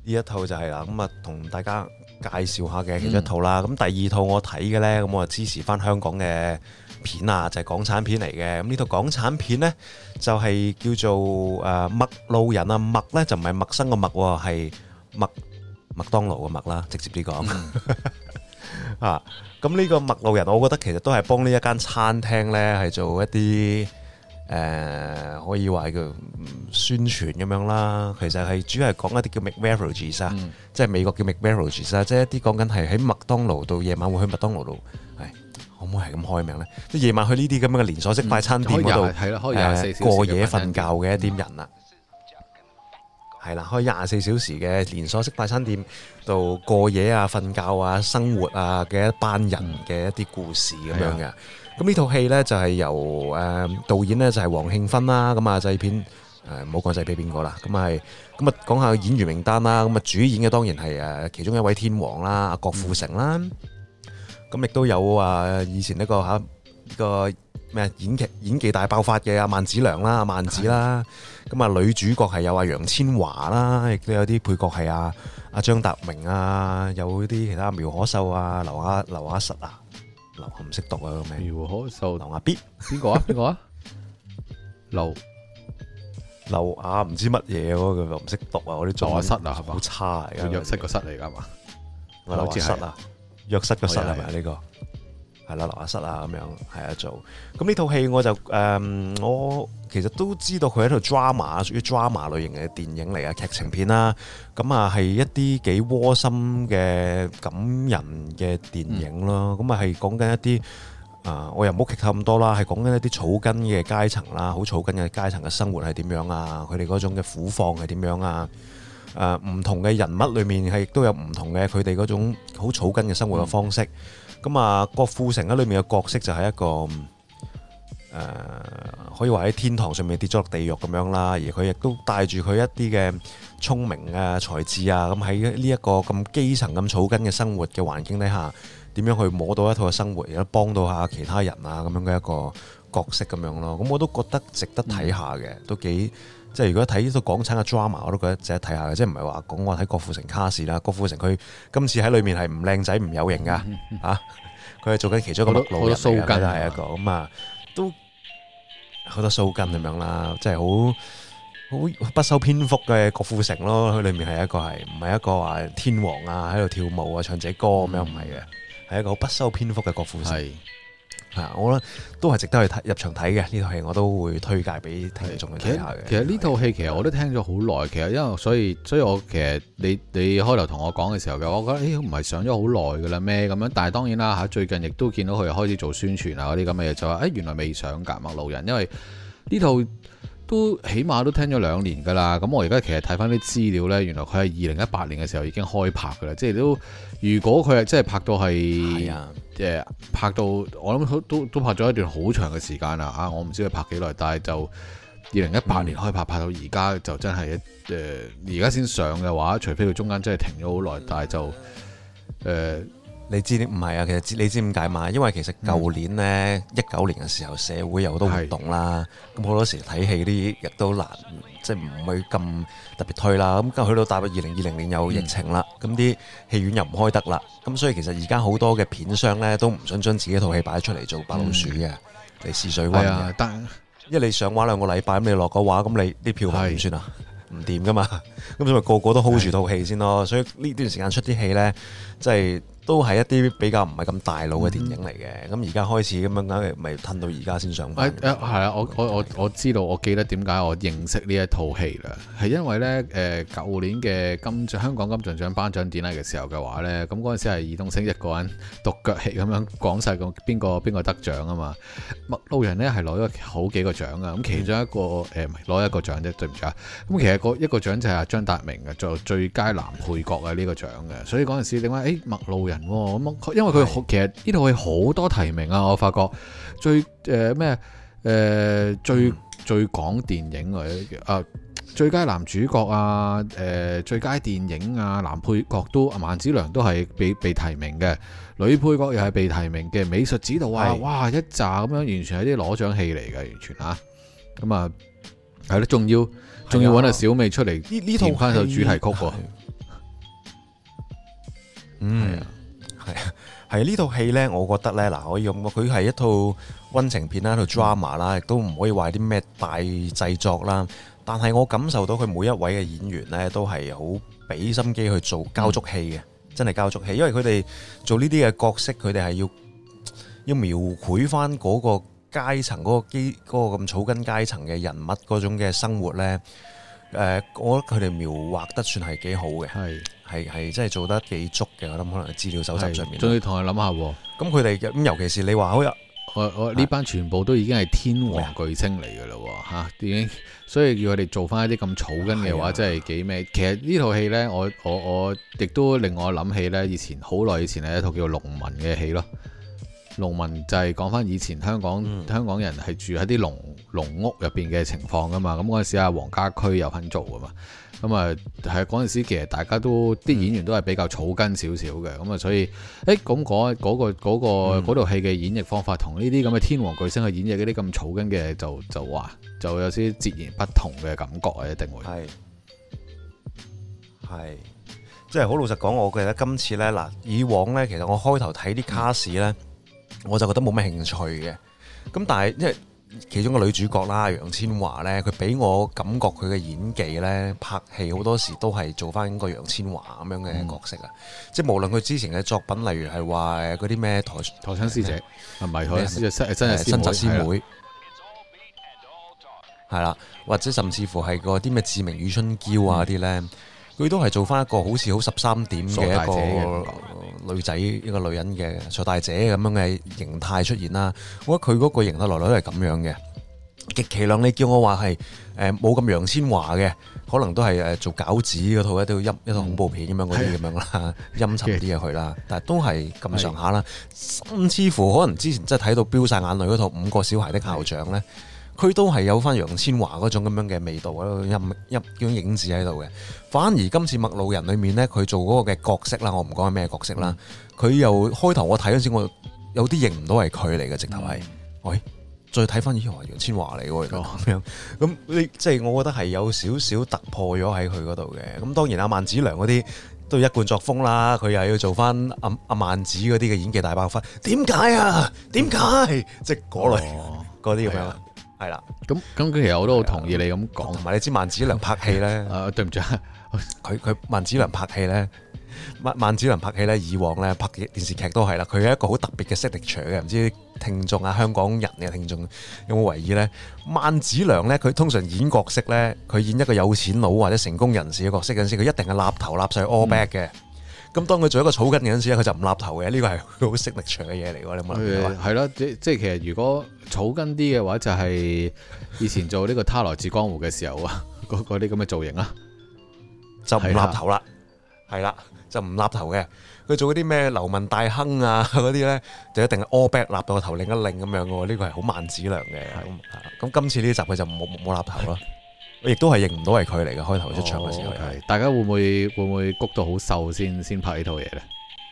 呢一套就係啦，咁啊同大家介紹下嘅其中一套啦。咁第二套我睇嘅呢，咁我就支持翻香港嘅片啊，就係港產片嚟嘅。咁呢套港產片呢，就係叫做麥路人啊，麥呢就唔係陌生個麥喎，係麥當勞個麥啦，直接啲講啊。咁呢個麥路人，我覺得其實都係幫呢一間餐廳呢，係做一啲可以話叫宣傳咁樣啦。其實係主要係講一啲叫 McMarriages 啊，即係美國叫 McMarriages 啊，即係一啲講緊係喺麥當勞度夜晚會去麥當勞度，可唔可以係咁開名呢？即係夜晚去呢啲咁樣嘅連鎖式快餐店嗰度，過夜瞓覺嘅一啲人啦。係啦，開24小時嘅連鎖式快餐店度過夜啊、瞓覺啊、生活啊嘅一班人嘅一啲故事咁樣嘅。咁呢套戲呢，就係由導演呢，就係黃慶芬啦，咁啊製片唔好講製片邊個啦，咁啊講下演員名單啦。咁啊主演嘅當然係其中一位天王啦，阿郭富城啦。咁亦都有以前呢個咩演技大爆發嘅阿萬梓良啦、阿萬子啦。咁啊女主角係有阿楊千嬅啦，亦都有啲配角係阿張達明啊，有啲其他苗可秀啊、劉雅實啊，我唔識讀啊個名。苗可秀、劉雅必邊個啊？劉雅唔知乜嘢嗰個唔識讀啊！我啲中文室啊，好差嚟㗎。約室個室嚟㗎嘛？劉雅室啊，約室個室係咪呢個？係啦，劉雅瑟啊咁樣係啊做。咁呢套戲我就我其實都知道佢係一套 drama，屬於 drama 類型嘅電影嚟啊，劇情片啦。咁啊係一啲幾窩心嘅感人嘅電影咯。咁啊係講緊一啲我又唔好劇透咁多啦，係講緊一啲草根嘅階層啦，好草根嘅階層嘅生活係點樣啊？佢哋嗰種嘅苦況係點樣啊？唔同嘅人物裏面係亦都有唔同嘅佢哋嗰種好草根嘅生活嘅方式。咁啊，郭富城喺裏面嘅角色就係一個可以話喺天堂上面跌咗落地獄咁樣啦，而佢亦都帶住佢一啲嘅聰明啊、才智啊，咁喺呢一個咁基層咁草根嘅生活嘅環境底下，點樣去摸到一套嘅生活，而家幫到下其他人啊咁樣嘅一個角色咁樣咯。咁我都覺得值得睇下嘅，都幾即係如果睇呢套港產嘅 drama， 我都覺得值得睇下嘅。即係唔係話講我睇郭富城卡士啦，郭富城佢今次喺裏面係唔靚仔唔有型噶嚇，佢係做緊其中一個麥路人嚟嘅，係一個咁啊，都好多鬚根咁樣啦，即係好不修邊幅嘅郭富城咯。佢裏面係一個係唔係一個話天王啊喺度跳舞啊唱隻歌咁樣，唔係嘅，係一個好不修邊幅嘅郭富城。我覺得都係值得去入場睇嘅呢套戲，我都會推介俾聽眾去睇下嘅。 其實呢套戲其實我都聽咗好耐，其實因為所以我其實你開頭同我講嘅時候嘅，我覺得唔係上咗好耐噶啦咩咁樣，但係當然啦嚇，最近亦都見到佢開始做宣傳啊嗰啲咁嘅嘢，就話原來未上㗎麥路人，因為呢套都起碼都聽咗2年㗎啦。咁我而家其實睇翻啲資料呢，原來佢係2018年嘅時候已經開拍㗎啦，即係都如果佢係真係拍到係拍到我諗都拍咗一段好長嘅時間啦啊！我唔知佢拍幾耐，但係就2018年開拍，拍到而家就真係而家先上嘅話，除非佢中間真係停咗好耐，但係就你知唔係啊？其實你知點解嘛？因為其實舊年呢，19年嘅時候社會有好多活動啦，咁好多時睇戲啲亦都難，即係唔會咁特別推啦。咁去到大約2020年有疫情啦，咁啲戲院又唔開得啦，咁所以其實而家好多嘅片商呢都唔想將自己套戲擺出嚟做白老鼠嘅，嚟試水溫嘅。但因為你上畫2個禮拜，咁你落個畫，咁你啲票房點算啊？唔掂噶嘛，咁所以個個都 hold 住套戲先咯。所以呢段時間出啲戲呢，即係都係一啲比較唔係咁大路嘅電影嚟嘅。咁而家開始咁樣，咪褪到而家先上翻。 係啊，我知道，我記得點解我認識呢一套戲啦，係因為呢舊年嘅香港金像獎頒獎典禮嘅時候嘅話呢，咁嗰陣時係爾冬陞一個人獨腳戲咁樣講晒個邊個得獎啊嘛。麥路人呢係攞咗好幾個獎啊，咁其中一個攞一個獎啫，對唔住啊。咁其實一個獎就係張達明嘅做最佳男配角嘅呢個獎嘅，所以嗰陣時點解麥路人咁，因為佢其實呢套戲好多提名啊，我發覺最講電影啊，最佳男主角啊，最佳電影啊，男配角都萬梓良都係被提名嘅，女配角又係被提名嘅，美術指導啊，哇一紮咁樣，完全係啲攞獎戲嚟嘅，完全嚇，咁啊係咯，仲要揾阿小美出嚟填翻首主題曲喎。 嗯，係呢套戲呢，我覺得呢，嗱，可以咁，佢係一套溫情片啦，一套 drama 啦，亦都唔可以話啲咩大製作啦。但係我感受到佢每一位嘅演員呢，都係好俾心機去做交足戲嘅，真係交足戲。因為佢哋做呢啲嘅角色，佢哋係要描繪翻嗰個階層嗰個咁草根階層嘅人物嗰種嘅生活呢。我覺得佢哋描畫得算係幾好嘅，係真係做得幾足嘅。我諗可能資料搜集上面， 仲要同佢諗下喎。 咁佢哋咁，尤其是你話好我呢班全部都已經係天王巨星嚟㗎啦喎嚇，已經，所以要佢哋做翻一啲咁草根嘅話，真係幾咩？其實呢套戲呢，我亦都令我諗起呢，以前好耐以前係一套叫做《農民》嘅戲咯。農民就係講翻以前香港人係住喺啲農屋入邊嘅情況噶嘛。咁嗰陣時阿黃家駒有份做噶嘛。咁啊係嗰陣時其實大家都啲演員都係比較草根少少嘅。咁啊所以咁嗰套戲嘅演繹方法同呢啲咁嘅天王巨星去演繹嗰啲咁草根嘅就有啲截然不同嘅感覺啊，一定會係即係好老實講，我記得今次呢，嗱，以往呢，其實我開頭睇啲卡士呢，我就覺得冇咩興趣嘅。咁但係因為其中個女主角啦，楊千嬅呢，佢俾我感覺佢嘅演技呢，拍戲好多時都係做翻個楊千嬅咁樣嘅角色啊。即係無論佢之前嘅作品，例如係話嗰啲咩台親師姐，唔係台親師姐，新紮師妹，係啦，或者甚至乎係嗰啲咩志明與春嬌啊啲呢。佢都係做翻一個好似好13點嘅一個女仔，一個女人嘅傻大姐咁樣嘅形態出現啦。我覺得佢嗰個形態來來都係咁樣嘅。極其量你叫我話係冇咁楊千嬅嘅，可能都係做餃子嗰套一套恐怖片咁樣嗰啲咁樣啦，陰沉啲嘅佢啦。但係都係咁上下啦。甚至乎可能之前真係睇到飆晒眼淚嗰套《5個小孩的校長》呢。佢都係有翻楊千嬅嗰種咁樣嘅味道，一種影子喺度嘅。反而今次《麥路人》裏面呢，佢做嗰個嘅角色啦，我唔講係咩角色啦。佢又開頭我睇嗰陣時，我有啲認唔到係佢嚟嘅，直頭係。喂，再睇翻咦，楊千嬅嚟喎咁樣。咁即係我覺得係有少少突破咗喺佢嗰度嘅。咁當然阿萬梓良嗰啲都一貫作風啦，佢又要做翻阿萬梓嗰啲嘅演技大爆發。點解啊？點解？即係嗰類嗰啲咁樣。係啦，咁其實我都好同意你咁講， 同埋你知萬梓良拍戲咧， 對唔住， 佢萬梓良拍戲咧，萬梓良拍戲咧，以往咧拍電視劇都係啦，佢係一個好特別嘅 signature 嘅，唔知聽眾啊，香港人嘅聽眾有冇為意咧？萬梓良咧，佢通常演角色咧，佢演一個有錢佬或者成功人士嘅角色嗰陣時，佢一定係立頭立上 all back 嘅。咁當佢做一個草根嘅陣時咧，佢就唔立頭嘅，呢個係好 signature 嘅嘢嚟喎。你有冇諗過？ 係咯，即係其實如果草根啲嘅話，就係以前做呢個他來自江湖嘅時候啊，嗰啲咁嘅造型啦， 就唔立頭啦，係啦，就唔立頭嘅。佢做嗰啲咩流民大亨啊嗰啲咧，就一定係 all back 立到個頭擰一擰咁樣嘅喎。呢個係好萬梓良嘅。咁今次呢集佢就冇立頭啦。我亦都係認唔到係佢嚟嘅，開頭出場嘅時候。 大家會唔會谷到好瘦先拍呢套嘢咧？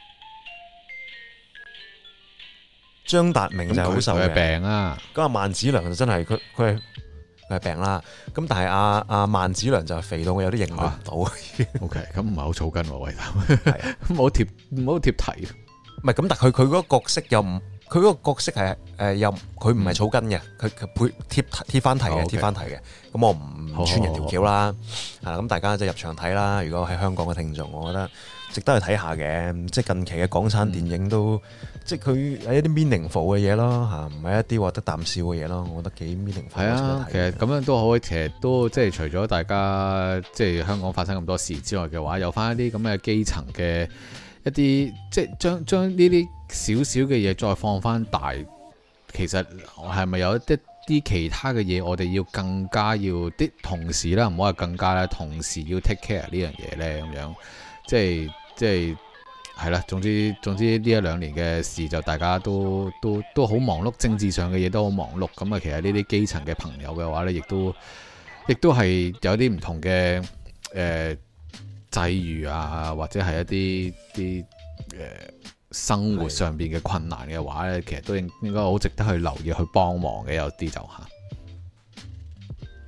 張達明就係好瘦嘅， 病啊！ 咁阿萬梓良就真係佢係病啦。咁但係阿萬梓良就肥到我有啲認唔到。 OK， 咁唔係好草根喎，喂，唔好貼題。 唔係咁，但係佢嗰個角色又唔。佢嗰個角色係又佢唔係草根嘅，佢貼翻題嘅，貼翻題嘅。咁我唔穿人條橋啦，係啦。咁大家即係入場睇啦。如果喺香港嘅聽眾，我覺得值得去睇下嘅。即係近期嘅港產電影都，即係佢係一啲 meaningful 嘅嘢咯嚇，唔係一啲獲得啖笑嘅嘢咯。我覺得幾 meaningful。係啊， 其實咁樣都好，其實都即係除咗大家即係香港發生咁多事之外嘅話，有翻一啲咁嘅基層嘅一啲，即係將呢啲少少嘅嘢再放翻大，其實係咪有一啲其他嘅嘢，我哋要更加要啲同事啦，唔好話更加啦，同時要 take care 呢樣嘢呢，咁樣，即係係啦。總之呢一兩年嘅事就大家都好忙碌，政治上嘅嘢都好忙碌。咁啊，其實呢啲基層嘅朋友嘅話呢，亦都係有啲唔同嘅際遇啊，或者係一啲生活上邊嘅困難嘅話咧，其實都應該好值得去留意去幫忙嘅，有啲就嚇。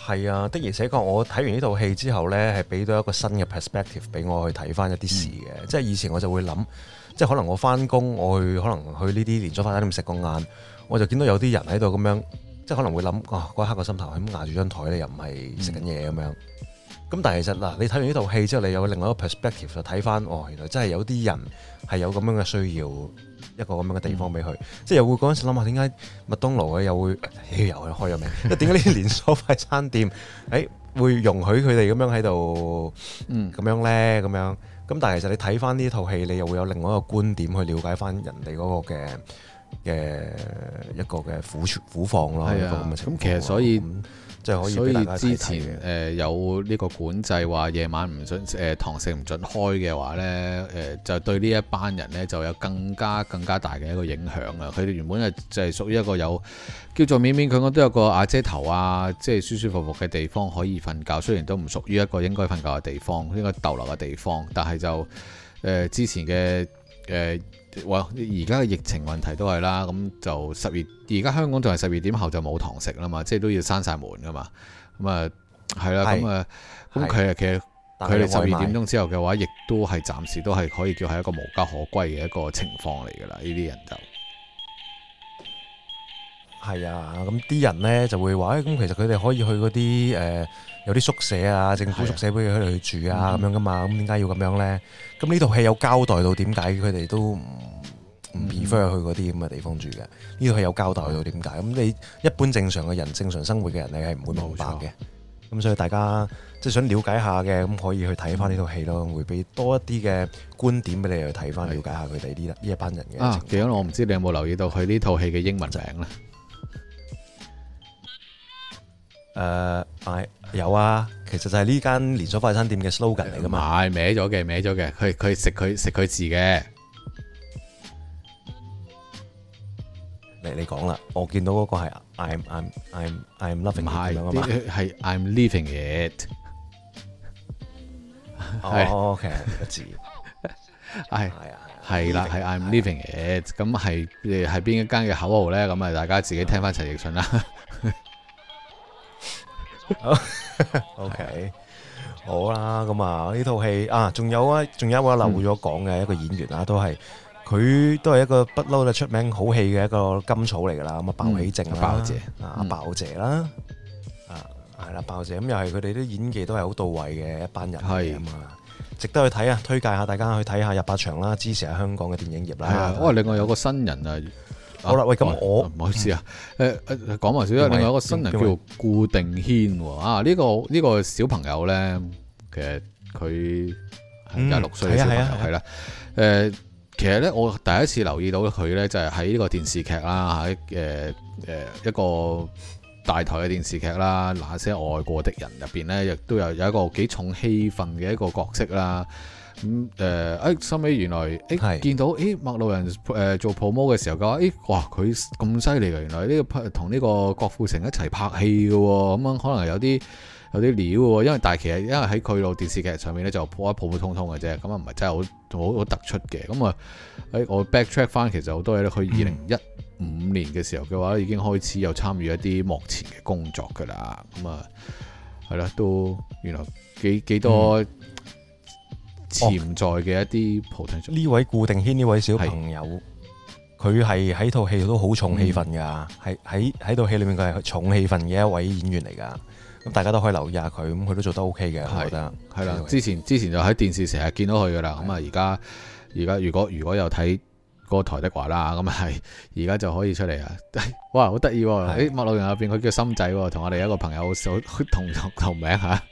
係啊，的而且確，我睇完呢套戲之後呢，係俾到一個新嘅 perspective 俾我去睇翻一啲事嘅。即係以前我就會諗，即係可能我翻工，我去可能去呢啲連鎖快餐店食個晏，我就見到有啲人喺度咁樣，即係可能會諗，嗰一刻個心頭係咁壓住張台咧，又唔係食緊嘢咁樣。咁但係其實嗱，你睇完呢套戲之後，你有另外一個 perspective 就睇翻，原來真係有啲人係有咁樣嘅需要，一個咁樣嘅地方俾佢，即係又會嗰陣時諗下點解麥當勞又會又開咗名，即係點解呢啲連鎖快餐店會容許佢哋咁樣喺度咁樣咧咁樣？咁但係其實你睇翻呢套戲，你又會有另外一個觀點去了解翻人哋嗰個嘅一個嘅苦況咯。係啊，咁其實所以。 所以之前有呢個管制話夜晚唔准堂食唔准開嘅話呢，就對呢一班人呢就有更加大嘅一個影響啊！佢哋原本就係屬於一個有叫做勉強都有個瓦遮頭啊，即係舒舒服服嘅地方可以瞓覺，雖然都唔屬於一個應該瞓覺嘅地方，應該逗留嘅地方，但係就之前嘅而家嘅疫情問題都係啦，咁就而家香港仲係12點後就冇堂食啦嘛，即係都要閂晒門噶嘛，咁啊係啦，咁其實佢哋12點鐘之後嘅話，亦都係暫時都係可以叫係一個無家可歸嘅一個情況嚟噶啦，呢啲人就係啊，咁啲人呢就會話，咁其實佢哋可以去嗰啲有啲宿舍啊，政府宿舍俾佢哋去住啊，咁樣噶嘛，咁點解要咁樣呢？咁呢套戲有交代到點解佢哋都唔 prefer 去嗰啲咁嘅地方住嘅？呢套戲有交代到點解？咁你一般正常嘅人、正常生活嘅人，你係唔會明白嘅。咁所以大家即係想了解下嘅，咁可以去睇翻呢套戲咯，會俾多一啲嘅觀點俾你去睇翻，了解下佢哋呢一班人嘅。 其實我唔知你有冇留意到佢呢套戲嘅英文名咧？ 有啊，其實就係呢間連鎖快餐店嘅 slogan 嚟噶嘛。 歪咗嘅，佢食佢字嘅。 你講啦，我見到嗰個係 I'm loving it 咁樣啊嘛， 係 I'm leaving it。 OK 個字係啦，係 I'm leaving it。咁係邊一間嘅口號咧？咁啊，大家自己聽翻陳奕迅啦。 OK， 好啦，咁啊呢套戲仲有一位漏咗講嘅一個演員啊，佢都係一個不嬲出名好戲嘅一個甘草嚟噶啦，咁啊鮑起靜啦，鮑姐啦，係啦鮑姐，咁又係佢哋啲演技都係好到位嘅一班人嚟啊嘛，值得去睇啊！推介下大家去睇下入8場啦，支持下香港嘅電影業啦。 另外有個新人啊。 好啦，喂，咁我唔好意思啊，講埋少少，另外一個新人叫做顧定軒喎，呢個小朋友咧，其實佢26歲嘅小朋友係啦，其實咧我第一次留意到佢咧，就係喺呢個電視劇啦，喺一個大台嘅電視劇啦，那些愛過的人入邊咧，亦都有一個幾重戲份嘅一個角色啦。咁收尾原來見到麥路人做 promo 嘅時候嘅話，哇佢咁犀利嘅，原來呢個同呢個郭富城一齊拍戲嘅喎，咁樣可能有啲料嘅喎，因為但係其實因為喺佢度電視劇上面咧就普通嘅啫，咁啊唔係真係好突出嘅，咁啊我 backtrack 翻其實好多嘢咧，佢2015年嘅時候嘅話已經開始有參與一啲幕前嘅工作㗎啦，咁啊係啦，都原來幾多潛在嘅一啲 potential。呢位顧定軒呢位小朋友，佢係喺套戲都好重戲份㗎，係喺套戲裏面佢係重戲份嘅一位演員嚟㗎。咁大家都可以留意下佢，咁佢都做得 OK 嘅，我覺得係啦。之前就喺電視成日見到佢㗎啦。咁啊而家如果有睇嗰個台的話啦，咁係而家就可以出嚟啊！哇，好得意喎！麥路人入邊佢叫心仔喎，同我哋一個朋友同名嚇。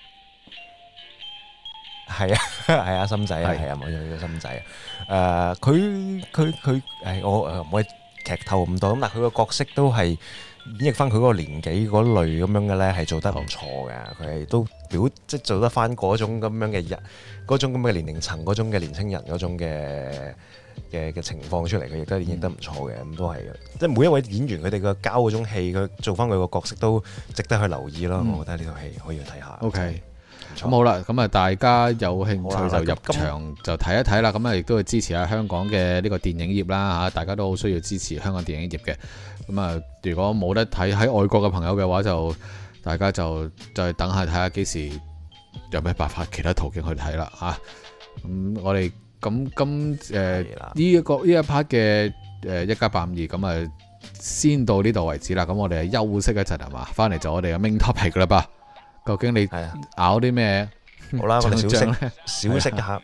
係啊，心仔係啊，冇錯，叫心仔啊。佢我唔可以劇透咁多，咁但係佢個角色都係演繹翻佢嗰個年紀嗰類咁樣嘅咧，係做得唔錯嘅。佢係都即係做得翻嗰種咁樣嘅人，嗰種咁嘅年齡層，嗰種嘅年輕人嗰種嘅情況出嚟，佢亦都演繹得唔錯嘅。咁都係即係每一位演員佢哋個交嗰種戲，佢做翻佢個角色都值得去留意咯。我覺得呢套戲可以去睇下。 OK。咁好啦，咁啊大家有興趣就入場就睇一睇啦，咁啊亦都係支持下香港嘅呢個電影業啦嚇，大家都好需要支持香港電影業嘅。咁啊，如果冇得睇喺外國嘅朋友嘅話，就大家就再等下睇下幾時有咩辦法其他途徑去睇啦嚇。咁我哋呢一 part 嘅1+852咁啊，先到呢度為止啦。咁我哋休息一陣係嘛，翻嚟就我哋嘅 main topic 啦吧。究竟你咬啲咩？ 好啦，我哋小息一下，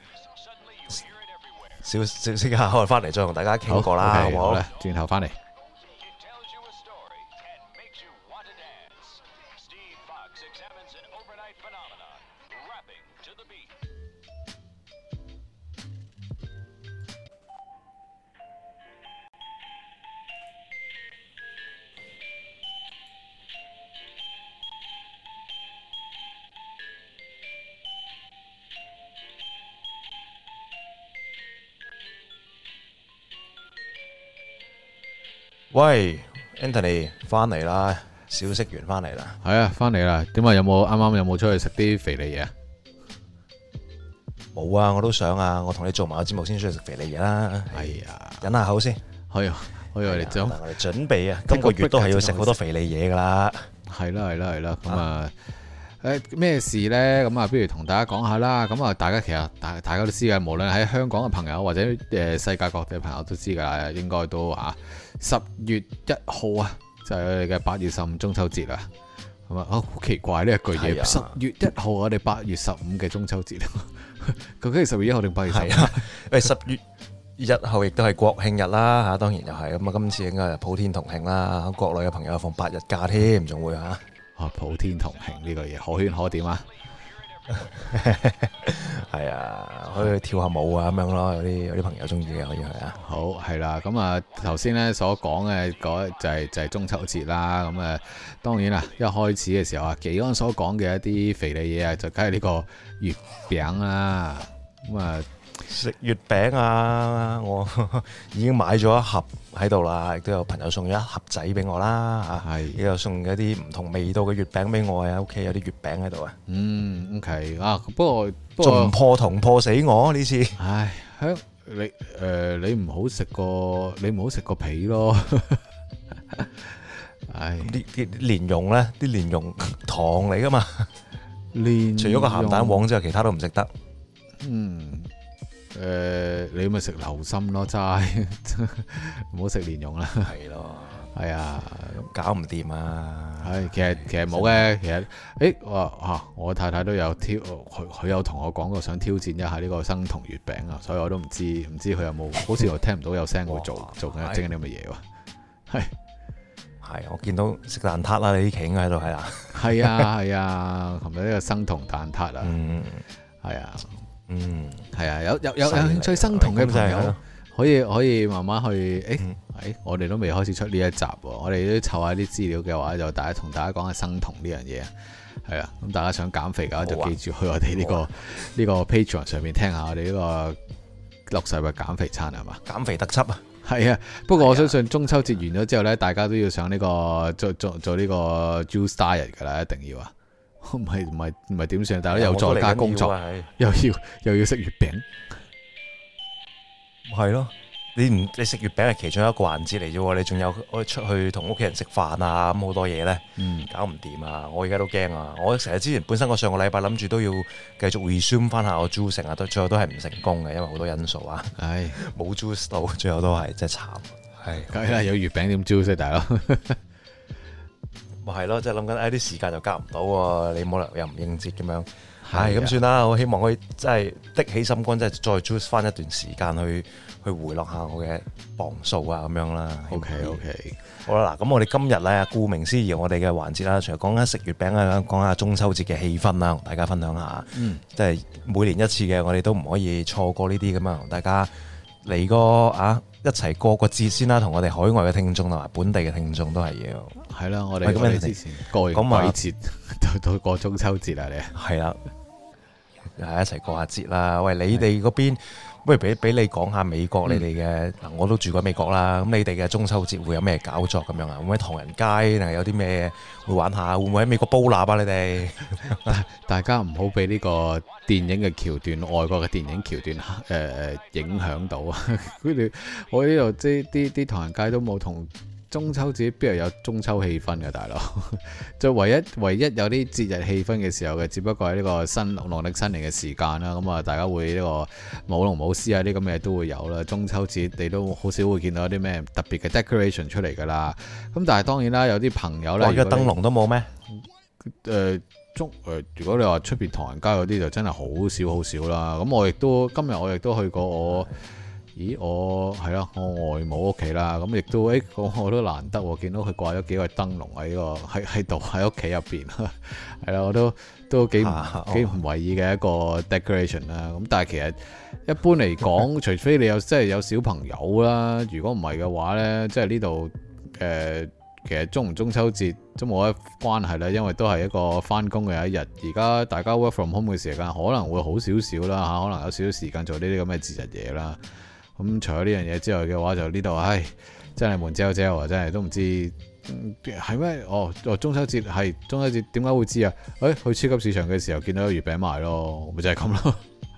小息一下，我哋翻嚟再同大家傾過啦，好唔好？ 轉頭翻嚟。 喂 ，Anthony 翻嚟啦，小息完翻嚟啦。 係啊，翻嚟啦。點啊？有冇出去食啲肥膩嘢啊？ 冇啊，我都想啊。我同你做埋個節目先出去食肥膩嘢啦。 係啊， 忍下口先。 係啊，我哋準備啊，今個月都係要食好多肥膩嘢噶啦。 係啦。咁啊，咩事呢？咁啊，不如同大家講下啦。咁啊，大家其實大家都知嘅，無論喺香港嘅朋友或者世界各地嘅朋友都知噶啦，應該都10月1號啊，就係我哋嘅8月15中秋節啦。咁啊，好奇怪呢一句嘢。10月1號我哋8月15嘅中秋節，究竟係10月1號定8月15？ 係啊，10月1號亦都係國慶日啦嚇，當然又係咁啊。今次應該係普天同慶啦，國內嘅朋友放8日假添，仲會嚇。普天同慶呢個嘢可圈可點啊！係啊，可以跳下舞啊咁樣咯，有啲朋友中意嘅可以去啊。 好係啦，咁啊頭先咧所講嘅嗰就係中秋節啦。咁啊當然啦，一開始嘅時候啊，紀安所講嘅一啲肥膩嘢啊，就梗係呢個月餅啦。咁啊食月餅啊，我已經買咗一盒喺度啦，亦都有朋友送咗一盒仔俾我啦嚇，亦有送一啲唔同味道嘅月餅俾我啊，屋企有啲月餅喺度啊。 OK 啊，不過仲唔破銅破死我呢次。 唉，你唔好食個皮咯。唉， 啲蓮蓉咧，啲蓮蓉糖嚟噶嘛。除咗個鹹蛋黃之外，其他都唔食得。 你咪食流心咯，齋唔好食蓮蓉啦。 係咯，係啊，搞唔掂啊。 係其實冇嘅，其實我太太都有佢有同我講過想挑戰一下呢個生酮月餅啊，所以我都唔知佢有冇，好似我聽唔到有聲會做緊整緊啲咁嘅嘢喎。 係我見到食蛋撻啦，你啲企喺度係啊。係啊，琴日呢個生酮蛋撻啊，係啊。係啊，有興趣生酮嘅朋友可以慢慢去。我哋都未開始出呢一集喎，我哋都湊下啲資料嘅話，就同大家講下生酮呢樣嘢。係啊，咁大家想減肥嘅話，就記住去我哋呢個 Patreon 上面聽下我哋呢個6世嘅減肥餐係嘛？減肥特輯啊！係啊，不過我相信中秋節完咗之後呢，大家都要上呢個做呢個 Juice Diet 㗎啦，一定要啊！唔係點算？大家又在家工作，又要食月餅，係咯？你食月餅係其中一個環節嚟啫喎，你仲有出去同屋企人食飯啊，咁好多嘢咧，搞唔掂啊！我而家都驚啊！我成日之前本身我上個禮拜諗住都要繼續 resume 翻下我 juice 啊，最後都係唔成功嘅，因為好多因素啊，冇 juice 到，最後都係真係慘。係梗係啦，有月餅點 juice 大佬？咪係咯，即係諗緊啲時間就夾唔到喎，你冇理由又唔應節咁樣。係咁算啦，我希望可以真係的起心肝，真係再 juice 翻一段時間去回落下我嘅磅數啊咁樣啦。OK， 好啦，嗱，咁我哋今日咧，顧名思義，我哋嘅環節啦，除咗講緊食月餅啊，講下中秋節嘅氣氛啦，同大家分享下。即係每年一次嘅，我哋都唔可以錯過呢啲咁啊，同大家嚟個一齊過個節先啦，同我哋海外嘅聽眾同埋本地嘅聽眾都係要。係啦，我哋之前過完鬼節到過中秋節啦，你係啦。係一齊過下節啦！喂，你哋嗰邊，不如俾你講下美國你哋嘅嗱，我都住過美國啦。咁你哋嘅中秋節會有咩搞作咁樣啊？會唔會唐人街定係有啲咩會玩下？會唔會喺美國煲蠟啊？你哋大家唔好俾呢個電影嘅橋段、外國嘅電影橋段影響到啊！我呢度即係啲唐人街都冇同中秋節邊有中秋氣氛嘅大佬？就唯一有啲節日氣氛嘅時候嘅，只不過係呢個農曆新年嘅時間啦。咁啊，大家會呢個舞龍舞獅啊啲咁嘅都會有啦。中秋節你都好少會見到啲咩特別嘅 decoration 出嚟㗎啦。咁但係當然啦，有啲朋友咧， 哇！個燈籠都冇咩？ 如果你話出邊唐人街嗰啲就真係好少啦。咁今日我亦都去過我係啦，我外母屋企啦。咁亦都我都難得見到佢掛咗幾個燈籠喺度喺屋企入邊，係啦，我都幾唔為意嘅一個 decoration 啦。咁但係其實一般嚟講，除非你真係有小朋友啦，如果唔係嘅話咧，即係呢度其實中唔中秋節都冇乜關係啦，因為都係一個翻工嘅一日。而家大家 work from home 嘅時間可能會好少少啦嚇，可能有少少時間做呢啲咁嘅節日嘢啦。咁除咗呢樣嘢之外嘅話，就呢度真係悶焦焦啊！真係都唔知係咩？中秋節係中秋節，點解會知啊？去超級市場嘅時候見到有月餅賣咯，咪就係咁咯。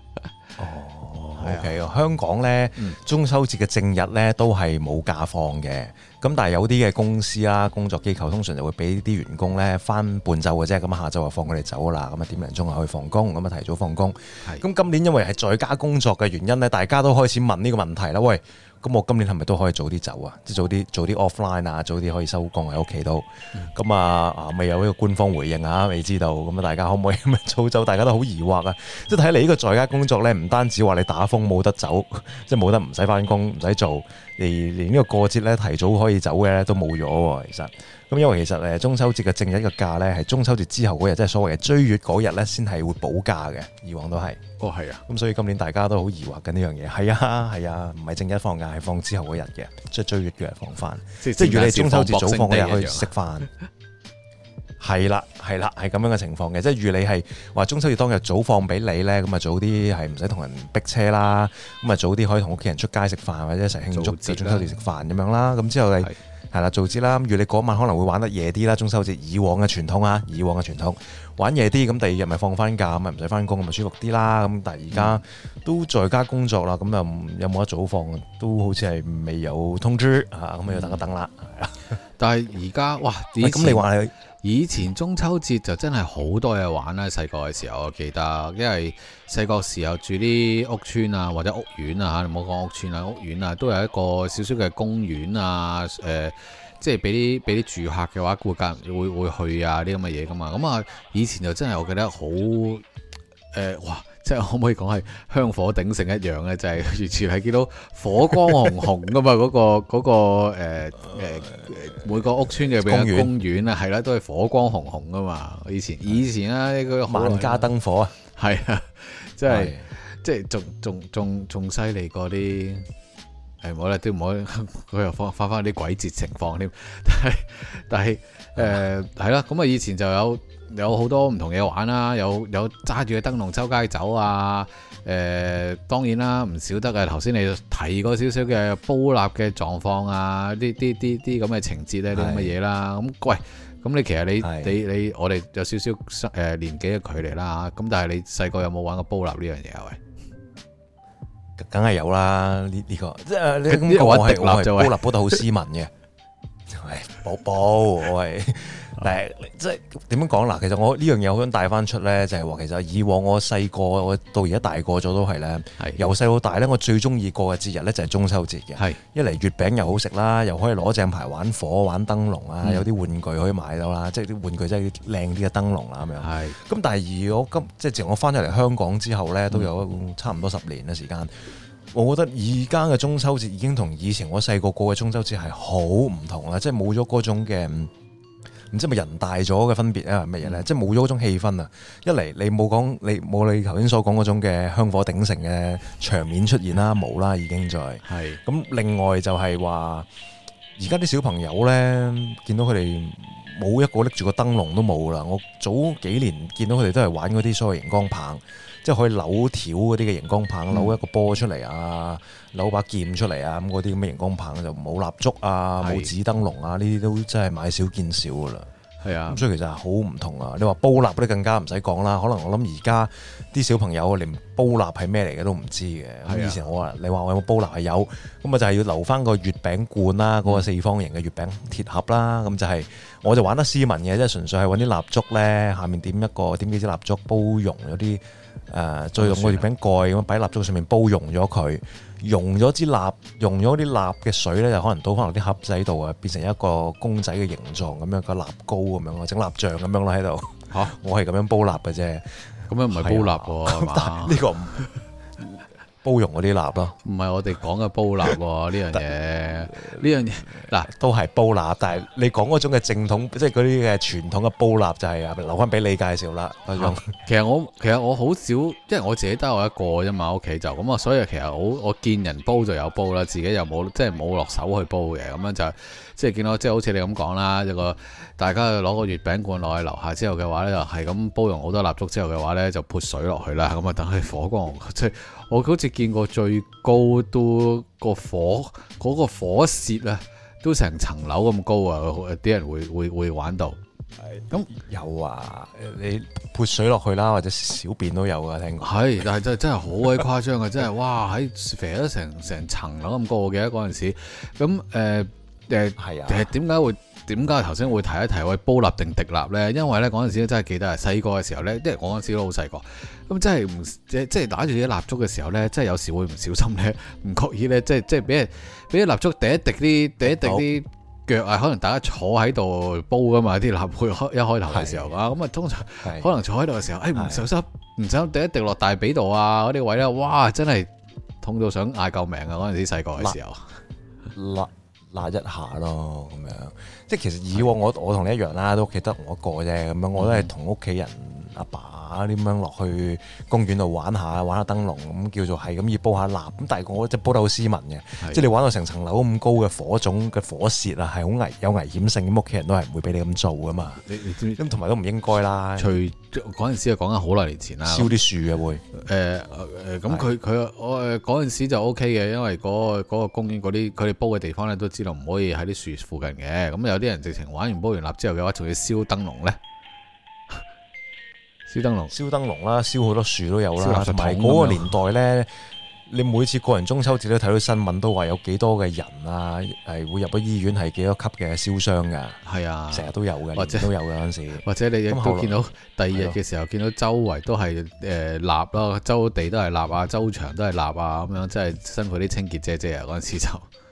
OK，香港呢，中秋節嘅正日呢都係冇假放嘅。咁但係有啲嘅公司啦、工作機構通常就會俾啲員工呢翻半晝嘅啫，咁下晝就放佢哋走啦。咁啊點零鐘就可以放工，咁啊提早放工。咁今年因為係在家工作嘅原因呢，大家都開始問呢個問題啦。喂，咁我今年係咪都可以早啲走啊？即係早啲 offline 啊，早啲可以收工喺屋企度。咁未有呢個官方回應啊，未知道。咁啊大家可唔可以咁早走？大家都好疑惑啊。即係睇嚟呢個在家工作呢，唔單止話你打風冇得走，即係冇得唔使翻工，唔使做。連呢個過節咧提早可以走嘅咧都冇咗喎，其實咁因為其實中秋節嘅正日嘅假咧係中秋節之後嗰日，即係所謂嘅追月嗰日咧先係會補假嘅，以往都係。 係啊。 咁所以今年大家都好疑惑緊呢樣嘢。係啊，唔係正日放假，係放之後嗰日嘅，即係追月嘅日放翻。即係如果你中秋節早放嗰日可以食飯。係啦，係咁樣嘅情況嘅，即係預你係話中秋節當日早放俾你咧，咁啊早啲係唔使同人逼車啦，咁啊早啲可以同屋企人出街食飯或者一齊慶祝中秋節食飯咁樣啦。咁之後你係啦做節啦，預你嗰晚可能會玩得夜啲啦。中秋節以往嘅傳統玩夜啲，咁第二日咪放翻假，咁咪唔使翻工，咁咪舒服啲啦。咁但係而家都在家工作啦，咁又有冇得早放？都好似係未有通知嚇，咁要等一等啦。 但係而家哇， 咁你話你？ 以前中秋節就真係好多嘢玩啦，細個嘅時候我記得，因為細個時候住啲屋村啊或者屋苑啊嚇，你唔好講屋村啊，屋苑啊都有一個少少嘅公園啊，即係俾啲住客嘅話會去啊啲咁嘅嘢噶嘛，咁啊以前就真係我記得好哇！即係可唔可以講係香火鼎盛一樣咧？就係完全係見到火光紅紅噶嘛！嗰個每個屋村嘅公園啊，係啦，都係火光紅紅噶嘛！以前啊，呢個萬家燈火啊， 係啊，即係仲犀利過啲唔好啦，都唔好佢又翻啲鬼節情況添。但係係啦，咁啊以前就有好多唔同嘢玩啦，有揸住嘅燈籠周街走啊，當然啦，唔少得嘅。頭先你提過少少嘅煲蠟嘅狀況啊，啲咁嘅情節咧，啲咁嘅嘢啦。咁喂，咁你其實你我哋有少少年紀嘅距離啦，咁但係你細個有冇玩過煲蠟呢樣嘢啊？喂， 梗係有啦，呢個即係你咁講，我係煲蠟煲得好斯文嘅，係煲我係。但係即係點樣講嗱？其實我呢樣嘢好想帶翻出咧，就係話其實以往我細個，我到而家大個咗都係咧，由細到大咧，我最中意過嘅節日咧就係中秋節嘅。一嚟月餅又好食啦，又可以攞正牌玩火、玩燈籠啊，有啲玩具可以買到啦，即係啲玩具真係靚啲嘅燈籠啦咁樣。咁但係而我即係自從我翻咗嚟香港之後咧，都有差唔多10年嘅時間。我覺得而家嘅中秋節已經同以前我細個過嘅中秋節係好唔同啦，即係冇咗嗰種嘅。唔知係咪人大咗嘅分別啊？乜嘢咧？即係冇咗嗰種氣氛啊！一嚟你冇你頭先所講嗰種嘅香火鼎盛嘅場面出現啦，冇啦已經在。係咁，另外就係話，而家啲小朋友咧，見到佢哋冇一個拎住個燈籠都冇啦。我早幾年見到佢哋都係玩嗰啲所謂熒光棒，即係可以扭條嗰啲嘅熒光棒，扭一個波出嚟啊，扭把劍出嚟啊，咁嗰啲咁嘅熒光棒就冇蠟燭啊，冇紙燈籠啊，呢啲都真係買少見少噶啦。 係啊， 咁所以其實係好唔同啊。你話煲蠟嗰啲更加唔使講啦，可能我諗而家啲小朋友連煲蠟係咩嚟嘅都唔知嘅。咁以前我話你話我有冇煲蠟係有，咁啊就係要留翻個月餅罐啦，嗰個四方形嘅月餅鐵盒啦，咁就係我就玩得斯文嘅，即係純粹係揾啲蠟燭咧，下面點幾支蠟燭煲溶咗啲再用個月餅蓋咁擺蠟燭上面煲溶咗佢。溶咗啲蠟嘅水咧，就可能倒翻落啲盒仔度啊，變成一個公仔嘅形狀咁樣，個蠟膏咁樣，整蠟像咁樣咯喺度。嚇！我係咁樣煲蠟嘅啫。咁樣唔係煲蠟喎，係嘛？呢個唔煲溶嗰啲蠟咯。唔係我哋講嘅煲蠟喎，呢樣嘢嗱都係煲蠟，但係你講嗰種嘅正統，即係嗰啲嘅傳統嘅煲蠟就係留翻俾你介紹啦。其實我好少，因為我自己得我一個啫嘛，屋企就咁啊，所以其實我見人煲就有煲啦，自己又冇即係冇落手去煲嘅，咁樣就即係見到即係好似你咁講啦，一個大家攞個月餅罐落去樓下之後嘅話咧，就係咁煲溶好多蠟燭之後嘅話咧，就潑水落去啦，咁啊等佢火光，即係我好似見過最高都個火舌啊，都成層樓咁高啊！啲人會玩到。咁有啊，你潑水落去啦，或者小便都有噶，聽講。係，但係真係好鬼誇張啊！真係哇，喺肥咗成層樓咁高嘅嗰陣時。咁係啊，點解頭先會提一提喂煲蠟定滴蠟咧？因為咧嗰陣時真係記得係細個嘅時候咧，因為我嗰陣時都好細個，咁真係唔即係打住啲蠟燭嘅時候咧，真係有時會唔小心咧，唔覺意咧，即係俾啲蠟燭滴一滴啲腳啊，可能大家坐喺度煲噶嘛，啲蠟會一開頭嘅時候啊，咁啊通常可能坐喺度嘅時候，唔小心滴一滴落大髀度啊，嗰啲位咧，哇真係痛到想嗌救命啊！嗰陣時細個嘅時候，辣一下咯，咁樣，即係其實以往我同你一樣啦，都屋企得我一個啫，咁樣我都係同屋企人阿爸點樣落去公園度玩下燈籠，咁叫做係咁要煲下蠟，咁但係我即係煲得好斯文嘅，即係你玩到成層樓咁高嘅火種嘅火舌啊，係好有危險性，咁屋企人都係唔會俾你咁做噶嘛，你知唔知？咁同埋都唔應該啦。除嗰陣時係講緊好耐年前啦，燒啲樹嘅會咁佢我嗰陣時就 O K 嘅，因為嗰個公園嗰啲佢哋煲嘅地方咧都知道唔可以喺啲樹附近嘅，咁有啲人直情玩完煲完蠟之後嘅話，仲要燒燈籠咧。燒燈籠啦，燒好多樹都有啦，同埋嗰個年代咧，你每次過完中秋節都睇到新聞，都話有幾多嘅人啊，係會入咗醫院，係幾多級嘅燒傷噶。係啊，成日都有嘅，或者都有嘅嗰陣時。或者你亦都見到第二日嘅時候，見到周圍都係蠟咯，周地都係蠟啊，周牆都係蠟啊，咁樣真係辛苦啲清潔姐姐啊！嗰陣時就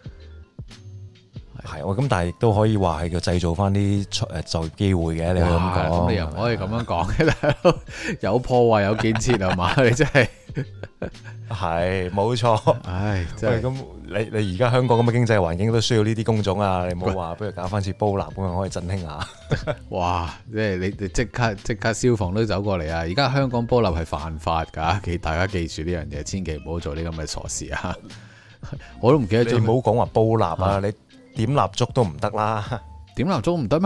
係咁，但係亦都可以話係叫製造翻啲就業機會嘅。你可以咁講，咁你又唔可以咁樣講嘅，有破壞有建設係嘛？你真係係冇錯。唉，真係咁，你而家香港咁嘅經濟環境都需要呢啲工種啊！你冇話不如搞翻次煲蠟咁樣可以振興下。哇！即係你即刻消防都走過嚟啊！而家香港煲蠟係犯法㗎，大家記住呢樣嘢，千祈唔好做啲咁嘅傻事啊！我都唔記得咗。你唔好講話煲蠟啊！你點蠟燭都唔得啦，點蠟燭唔得咩？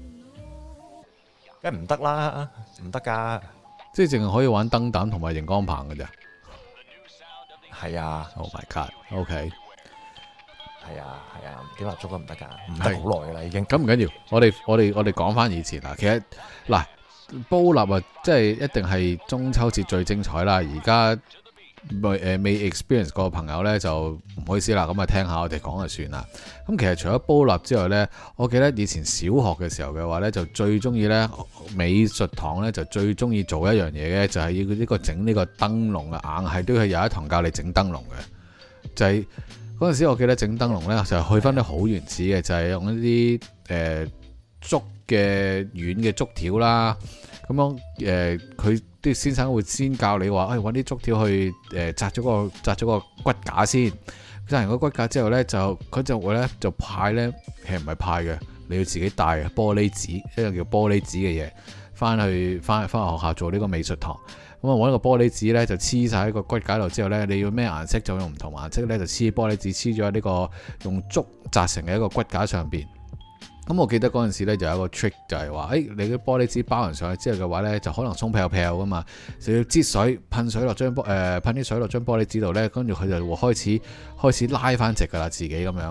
梗係唔得啦，唔得噶，即係淨係可以玩燈膽同埋熒光棒嘅咋。係啊 ，Oh my God，OK，係啊，點蠟燭都唔得噶，唔得好耐噶啦已經。咁唔緊要，我哋講翻以前啦。其實嗱，煲蠟啊，即係一定係中秋節最精彩啦。而家未 experience 過嘅朋友呢，就唔好意思啦，咁啊聽下我哋講就算啦。咁其實除咗煲蠟之外呢，我記得以前小學嘅時候嘅話呢，就最中意呢美術堂呢，就最中意做一樣嘢嘅，就係要呢個整呢個燈籠啊，硬係都係有一堂教你整燈籠嘅。就係嗰陣時我記得整燈籠呢，就係去翻啲好原始嘅，就係用一啲竹嘅軟嘅竹條啦。咁樣佢啲先生會先教你話，揾啲竹條去紮咗個骨架先。紮完個骨架之後咧，佢就會咧就派咧，其實唔係派嘅，你要自己帶嘅玻璃紙，一個叫玻璃紙嘅嘢，翻去學校做呢個美術堂。咁啊揾個玻璃紙咧就黐晒喺個骨架度之後咧，你要咩顏色就用唔同顏色咧，就黐玻璃紙黐咗喺呢個用竹紮成嘅一個骨架上邊。咁我記得嗰陣時咧就有一個 trick 就係話，你啲玻璃紙包完上去之後嘅話咧，就可能鬆飄飄噶嘛，就要擠水噴水落張噴啲水落張玻璃紙度咧，跟住佢就會開始拉翻直噶啦，自己咁樣。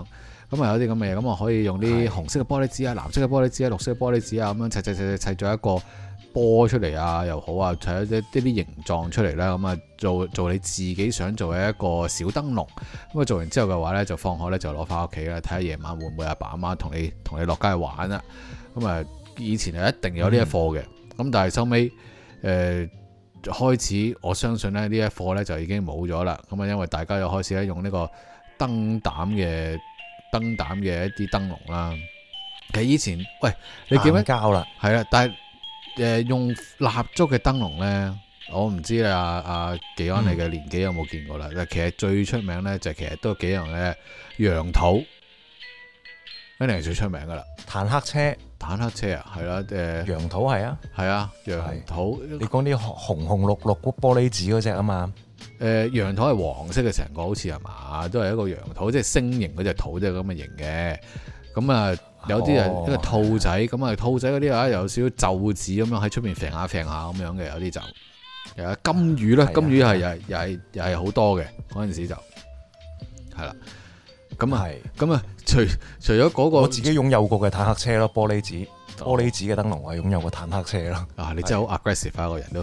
咁啊有啲咁嘅嘢，咁啊可以用啲紅色嘅玻璃紙啊、藍色嘅玻璃紙啊、綠色嘅玻璃紙啊，咁樣砌咗一個波出嚟啊，又好啊，砌咗啲形狀出嚟啦，咁啊做你自己想做嘅一個小燈籠。咁啊做完之後嘅話咧，就放學咧就攞翻屋企啦，睇下夜晚會唔會阿爸阿媽同你落街去玩啦。咁啊以前係一定有呢一課嘅，咁但係收尾開始，我相信咧呢一課咧就已經冇咗啦。咁啊因為大家又開始咧用呢個燈膽嘅一啲燈籠啦。其實以前喂，你記唔記得膠啦？ 係啦，但係用蠟燭嘅燈籠咧，我唔知阿技安你嘅年紀有冇見過啦。其實最出名咧就其實都幾樣嘅楊桃，一定係最出名噶啦。坦克車啊，係啦， 楊桃係啊， 楊桃。 你講啲紅綠玻璃紙嗰隻啊嘛？ 楊桃係黃色嘅成個，好似係嘛，都係一個楊桃，即係星形嗰隻桃，即係咁嘅型嘅。咁啊，有啲係一個兔仔，咁啊兔仔嗰啲啊有少少皺紙咁樣喺出邊揈下咁樣嘅，有啲就有金魚啦，金魚係又係好多嘅嗰陣時就係啦。咁啊，除咗嗰個， 我自己擁有過嘅坦克車咯，玻璃紙嘅燈籠，我係擁有個坦克車咯。啊， 你真係好 aggressive 啊，個人都。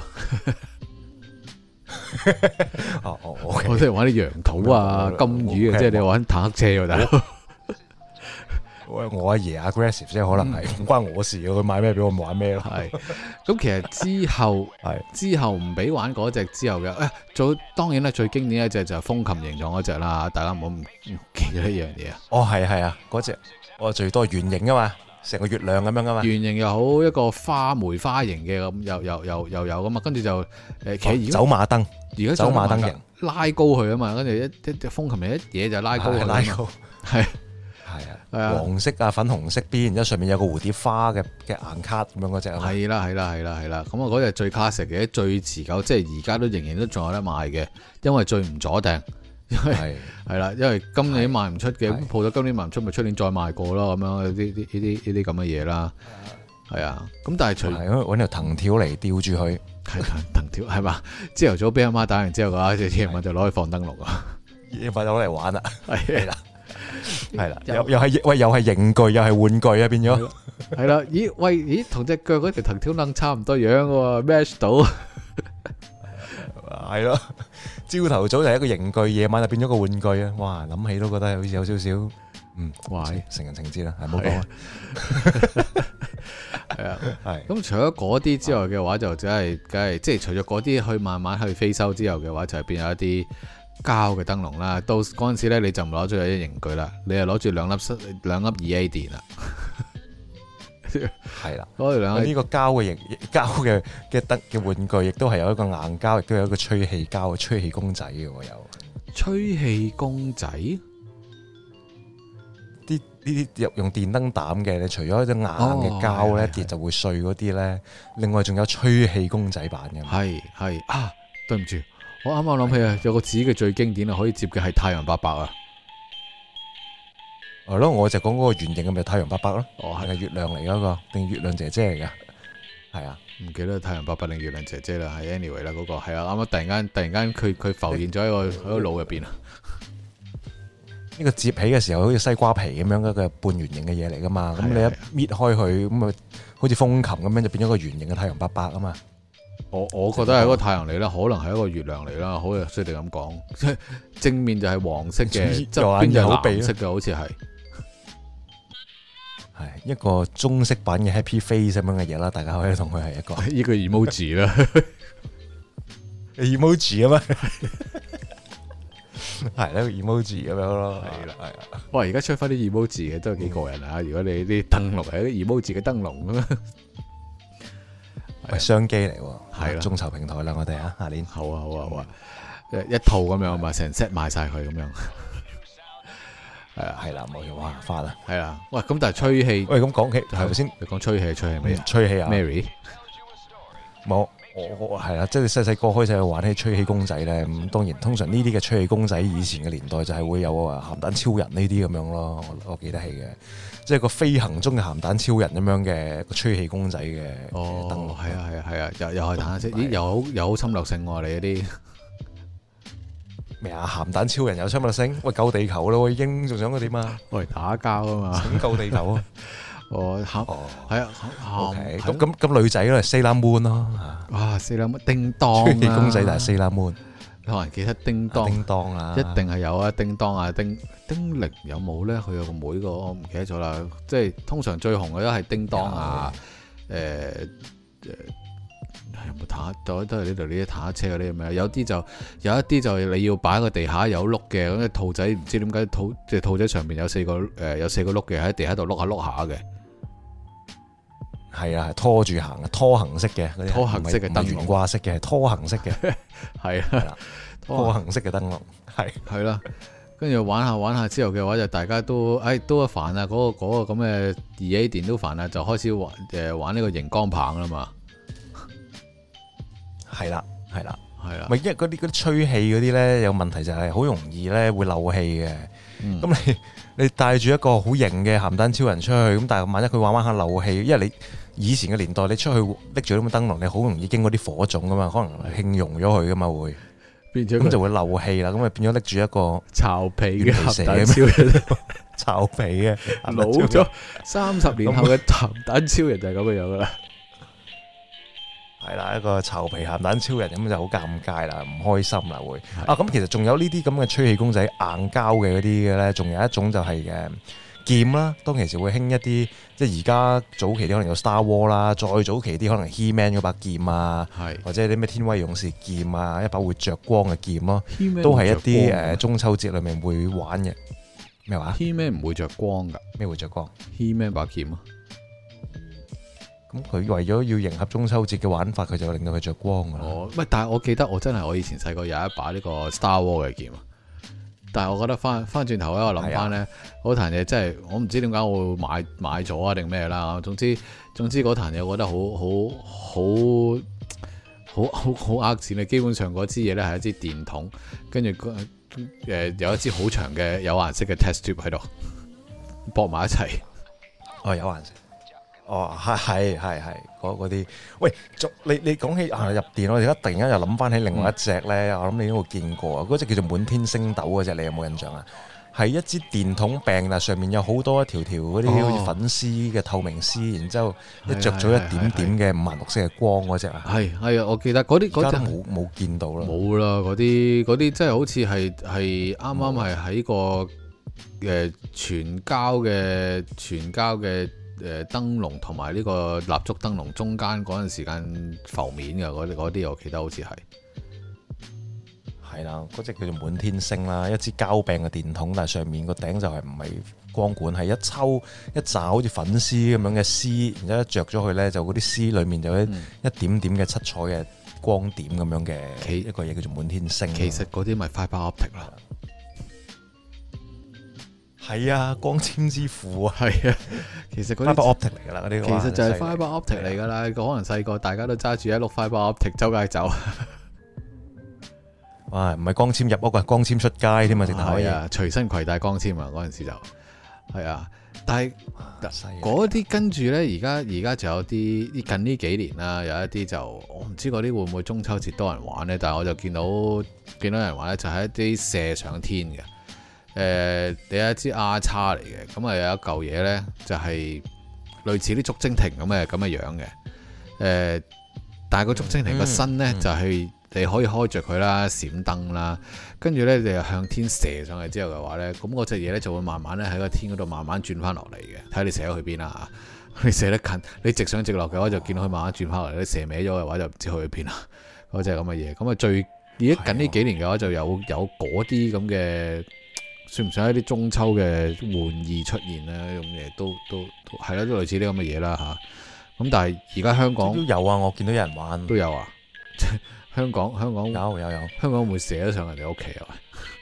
我即係玩啲楊桃啊、金魚嘅，即係你玩坦克車喎，大佬。 我阿爺 aggressive 即係可能係唔關我事，佢買咩俾我玩咩咯。 係咁，其實之後唔俾玩嗰隻之後嘅，當然咧最經典一隻就係風琴形狀嗰隻啦。大家唔好唔記得呢樣嘢啊。 哦，係啊，嗰隻我最多圓形噶嘛，成個月亮咁樣噶嘛。圓形又好，一個梅花形嘅咁，又有噶嘛。跟住就其實走馬燈， 而家走馬燈型拉高佢啊嘛。跟住一風琴一嘢就拉高佢， 拉高係。 係啊，黃色啊、粉紅色邊，然之後上面有個蝴蝶花嘅硬卡咁樣嗰隻啊。 係啦。咁啊嗰隻最 classic 嘅，最持久，即係而家都仍然都仲有得賣嘅，因為最唔阻訂。係啦，因為今年賣唔出嘅，咁鋪咗今年賣唔出，咪出年再賣過咯。咁樣呢啲咁嘅嘢啦。係啊，咁但係除揾條藤條嚟吊住佢， 係藤條係嘛？朝頭早俾阿媽打完之後嘅話，夜晚就攞去放燈籠啊， 夜晚就攞嚟玩啦。係啦。係啦，又係刑具，又係玩具啊，變咗係啦。咦，同隻腳嗰條藤條楞差唔多樣喎 ，match 到係咯。朝頭早就係一個刑具，夜晚就變咗個玩具啊！哇，諗起都覺得好似有少少哇，成人情節啦，係唔好講啊。係啊，係。咁除咗嗰啲之外嘅話，就梗係即係除咗嗰啲去慢慢去飛收之後嘅話，就係變咗一啲膠嘅燈籠啦，到嗰陣時咧你就唔攞咗一刑具啦，你係攞住兩粒2A 電啦，係啦，攞住呢個膠嘅燈嘅玩具，亦都係有一個硬膠，亦都有一個吹氣膠嘅吹氣公仔嘅喎，有吹氣公仔， 呢啲用電燈膽嘅，你除咗一隻硬嘅膠咧跌就會碎嗰啲咧，另外仲有吹氣公仔版嘅， 係啊，對唔住。我啱啱諗起啊，有個紙嘅最經典啊，可以接嘅係太陽伯伯啊。 係咯，我就講嗰個圓形嘅咪太陽伯伯咯。哦，係月亮嚟嗰個，定月亮姐姐嚟噶？係啊，唔記得太陽伯伯定月亮姐姐啦。係 anyway 啦，嗰個係啊，啱啱突然間佢浮現咗喺個腦入邊啊。 呢個接起嘅時候好似西瓜皮咁樣一個半圓形嘅嘢嚟噶嘛。咁你一搣開佢，咁啊好似風琴咁樣就變咗個圓形嘅太陽伯伯啊嘛。 我覺得係一個太陽嚟啦，可能係一個月亮嚟啦，好似衰地咁講。正面就係黃色嘅，側邊就係藍色嘅，好似係一個中式版嘅 Happy Face 咁樣嘅嘢啦。大家可以同佢係一個 emoji 啦 ，emoji 啊嘛，係一個 emoji 咁樣咯。係啦，係啊。 哇！而家出翻啲 emoji 嘅都係幾過癮啊！如果你啲燈籠係啲 emoji 嘅燈籠咁樣。 係商機嚟喎， 係啦， 眾籌平台啦，我哋下年好啊，一套咁樣嘛，成 set 賣晒佢咁樣， 係啦，冇錯，哇，發啦， 係啦，喂，咁但係吹氣， 喂，咁講起係咪先？ 你講吹氣咩啊？ 吹氣啊 ，Mary， 冇，我係啦，即係細細個開始去玩起吹氣公仔咧，咁當然通常呢啲嘅吹氣公仔以前嘅年代就係會有鹹蛋超人呢啲咁樣咯，我記得起嘅。即係個飛行中嘅鹹蛋超人咁樣嘅個吹氣公仔嘅燈籠， 係啊，又係彈色，咦，又好侵略性喎，你嗰啲咩啊？鹹蛋超人有槍物星，喂救地球咯，已經仲想佢點啊？ 我嚟打交啊嘛， 拯救地球啊！係啊，OK，咁女仔咧，Sailor Moon 咯， 哇，Sailor Moon叮當出氣公仔就係 Sailor Moon， 可能記得叮當啊， 一定係有啊，叮當啊，丁力有冇咧？佢有個妹個，我唔記得咗啦。即係通常最紅嘅都係叮當啊，有冇坦都係呢度呢啲坦克車嗰啲咁樣？有一啲就你要擺喺個地下有碌嘅，咁隻兔仔唔知點解隻兔仔上面有四個碌嘅，喺地下度碌下嘅。 係啊，拖住行嘅，拖行式嘅， 拖行式嘅燈籠， 懸掛式嘅，拖行式嘅， 係啦， 拖行式嘅燈籠， 係啦。跟住玩下之後嘅話，就大家都都煩啊！嗰個咁嘅2A 電都煩啊，就開始玩呢個熒光棒啦嘛。 係啦。咪因為嗰啲吹氣嗰啲咧有問題就係好容易咧會漏氣嘅。咁你帶住一個好型嘅鹹蛋超人出去，咁但係萬一佢玩下漏氣，因為你以前嘅年代你出去拎住咁嘅燈籠，你好容易經過啲火種噶嘛，可能輕溶咗佢噶嘛會，咁就會漏氣啦。咁咪變咗拎住一個巢皮嘅鹹蛋超人， 巢皮嘅老咗30年後嘅鹹蛋超人就係咁嘅樣噶啦。 係啦，一個巢皮鹹蛋超人咁就好尷尬啦，唔開心啦會。咁其實仲有呢啲咁嘅吹氣公仔硬膠嘅嗰啲嘅咧，仲有一種就係劍啦。當其時會興一啲，即係而家早期啲可能有 Star War 啦，再早期啲可能 He-Man 嗰把劍啊，或者啲咩天威勇士劍啊，一把會着光嘅劍咯，都係一啲中秋節裏面會玩嘅。咩話 He-Man 唔會着光㗎？ 咩會着光 ？He-Man 把劍啊！ 咁佢為咗要迎合中秋節嘅玩法，佢就令到佢着光㗎啦。 但係我記得我以前細個有一把呢個 Star War 嘅劍啊。但係我覺得翻轉頭咧，我諗翻咧，嗰壇嘢真係我唔知點解我會買咗啊定咩啦。總之嗰壇嘢我覺得好呃錢啊！基本上嗰支嘢咧係一支電筒，跟住有一支好長嘅有顏色嘅 test tube 喺度駁埋一齊。 有顏色。係嗰啲。喂，你講起入電，我而家突然間又諗翻起另外一隻咧，我諗你應該會見過啊。嗰隻叫做滿天星斗嗰隻，你有冇印象啊？係一支電筒柄，但上面有好多一條嗰啲好似粉絲嘅透明絲，然之後一着咗一點點嘅五顏六色嘅光嗰隻啊。係啊，我記得嗰啲嗰隻冇見到啦。冇啦，嗰啲真係好似係啱啱係喺個全膠嘅燈籠同埋呢個蠟燭燈籠中間嗰陣時間浮面嘅嗰啲，我記得好似係啦，嗰隻叫做滿天星啦，一支膠柄嘅電筒，但係上面個頂就係唔係光管，係一抽一紮好似粉絲咁樣嘅絲，然之後一着咗去咧，就嗰啲絲裡面就一點點嘅七彩嘅光點咁樣嘅一個嘢叫做滿天星。其實嗰啲咪 fiber optic 啦。係啊，光纖之父啊，係啊，其實嗰啲 fiber optic 嚟噶啦，嗰啲其實就係 fiber optic 嚟噶啦。可能細個大家都揸住一碌 fiber optic 周街走，哇！唔係光纖入屋啊，光纖出街添啊，直頭係啊，隨身攜帶光纖啊，嗰陣時就係啊。但係嗰啲跟住咧，而家就有啲近呢幾年啦，有一啲就我唔知嗰啲會唔會中秋節多人玩咧，但係我就見到人玩咧，就係一啲射上天嘅。你有一支 R 叉嚟嘅，咁啊有一嚿嘢咧，就係類似啲竹蜻蜓咁嘅樣嘅，但係個竹蜻蜓個身咧就係你可以開着佢啦，閃燈啦，跟住咧你又向天射上去之後嘅話咧，咁嗰隻嘢咧就會慢慢咧喺個天嗰度慢慢轉翻落嚟嘅，睇下你射咗去邊啦嚇，你射得近，你直上直落嘅話就見到佢慢慢轉翻落嚟，你射歪咗嘅話就唔知去邊啦，嗰隻咁嘅嘢，咁啊而家近呢幾年嘅話就有嗰啲咁嘅。算唔算一啲中秋嘅玩意出現咧？咁嘢都係啦，都類似啲咁嘅嘢啦嚇。咁但係而家香港都有啊，我見到有人玩都有啊。香港有，香港會射得上人哋屋企啊？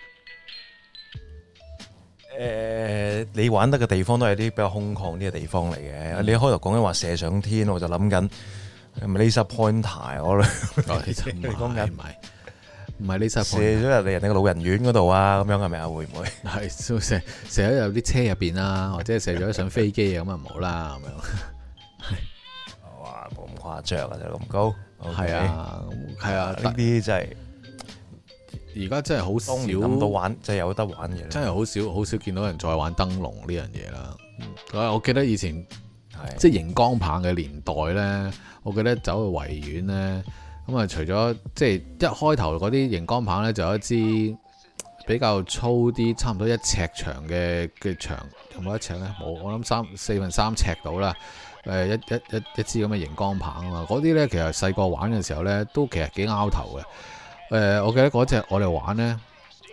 你玩得嘅地方都係啲比較空曠啲嘅地方嚟嘅。你一開頭講緊話射上天，我就諗緊係咪 laser pointer 我其實你講緊唔係呢隻射咗入嚟人哋個老人院嗰度啊，咁樣係咪啊？會唔會係射咗入啲車入邊啊，或者射咗上飛機啊？咁啊唔好啦，咁樣。哇，冇咁誇張啊，就咁高。係啊，呢啲真係而家真係好少諗到玩，即係有得玩嘅， 真係好少見到人再玩燈籠呢樣嘢啦。我記得以前係即係熒光棒嘅年代呢，我記得走去維園呢，咁啊除咗即係一開頭嗰啲熒光棒呢，就有一支比較粗啲，差唔多1尺長嘅長，有冇1尺呢？冇，我諗4分3尺到啦。一支咁嘅熒光棒啊嘛，嗰啲呢，其實細個玩嘅時候呢，都其實幾拗頭嘅。我記得嗰隻我哋玩呢，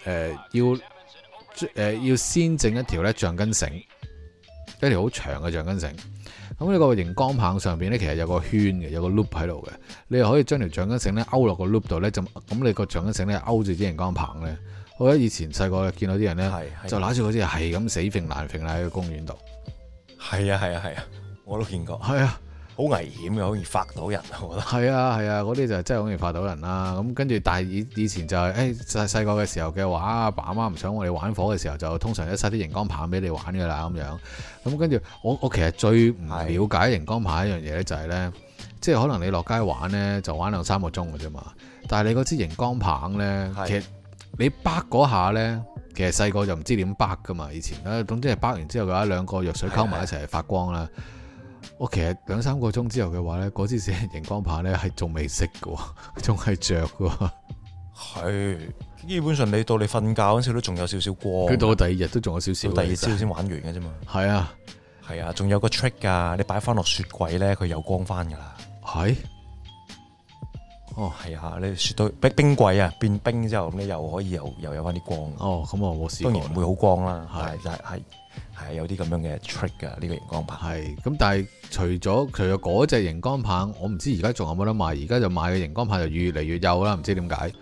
要先整一條呢橡筋繩，一條好長嘅橡筋繩。咁呢個熒光棒上邊呢，其實有個圈嘅，有個 loop 喺度嘅。你又可以將條橡筋繩呢勾落個 loop 度呢，咁你個橡筋繩呢勾住支熒光棒呢。我覺得以前細個見到啲人呢，就攞住嗰支係咁死揈爛揈喺個公園度。 係啊，我都見過。 係啊。 好危險嘅，好易發到人，我覺得。 係啊，嗰啲就真係好易發到人啦。咁跟住，但係以前就係細個嘅時候嘅話，阿爸阿媽唔想我哋玩火嘅時候，就通常一塞啲熒光棒俾你玩㗎啦咁樣。咁跟住，我其實最唔了解熒光棒一樣嘢咧，就係咧，即係可能你落街玩咧，就玩2-3個鐘嘅啫嘛。但係你嗰支熒光棒咧，其實你掰嗰下咧，其實細個就唔知點掰噶嘛。以前咧，總之係掰完之後嘅話，2個藥水溝埋一齊發光啦。我其實2-3個鐘之後嘅話咧，嗰支熒光棒咧係仲未熄嘅，仲係着嘅。係， 基本上你到你瞓覺嗰陣時都仲有少少光。 佢到第2日都仲有少少。 到第2朝先玩完嘅啫嘛。係啊，仲有個 trick 㗎，你擺翻落雪櫃咧，佢有光翻㗎啦。係。哦，係啊，你雪到冰櫃啊，變冰之後，咁你又可以又有翻啲光。哦，咁我冇試過。當然唔會好光啦，係有啲咁樣嘅 trick 㗎，呢個熒光棒。係，咁但係除咗嗰隻熒光棒，我唔知而家仲有冇得賣。而家就賣嘅熒光棒就越嚟越幼啦，唔知點解。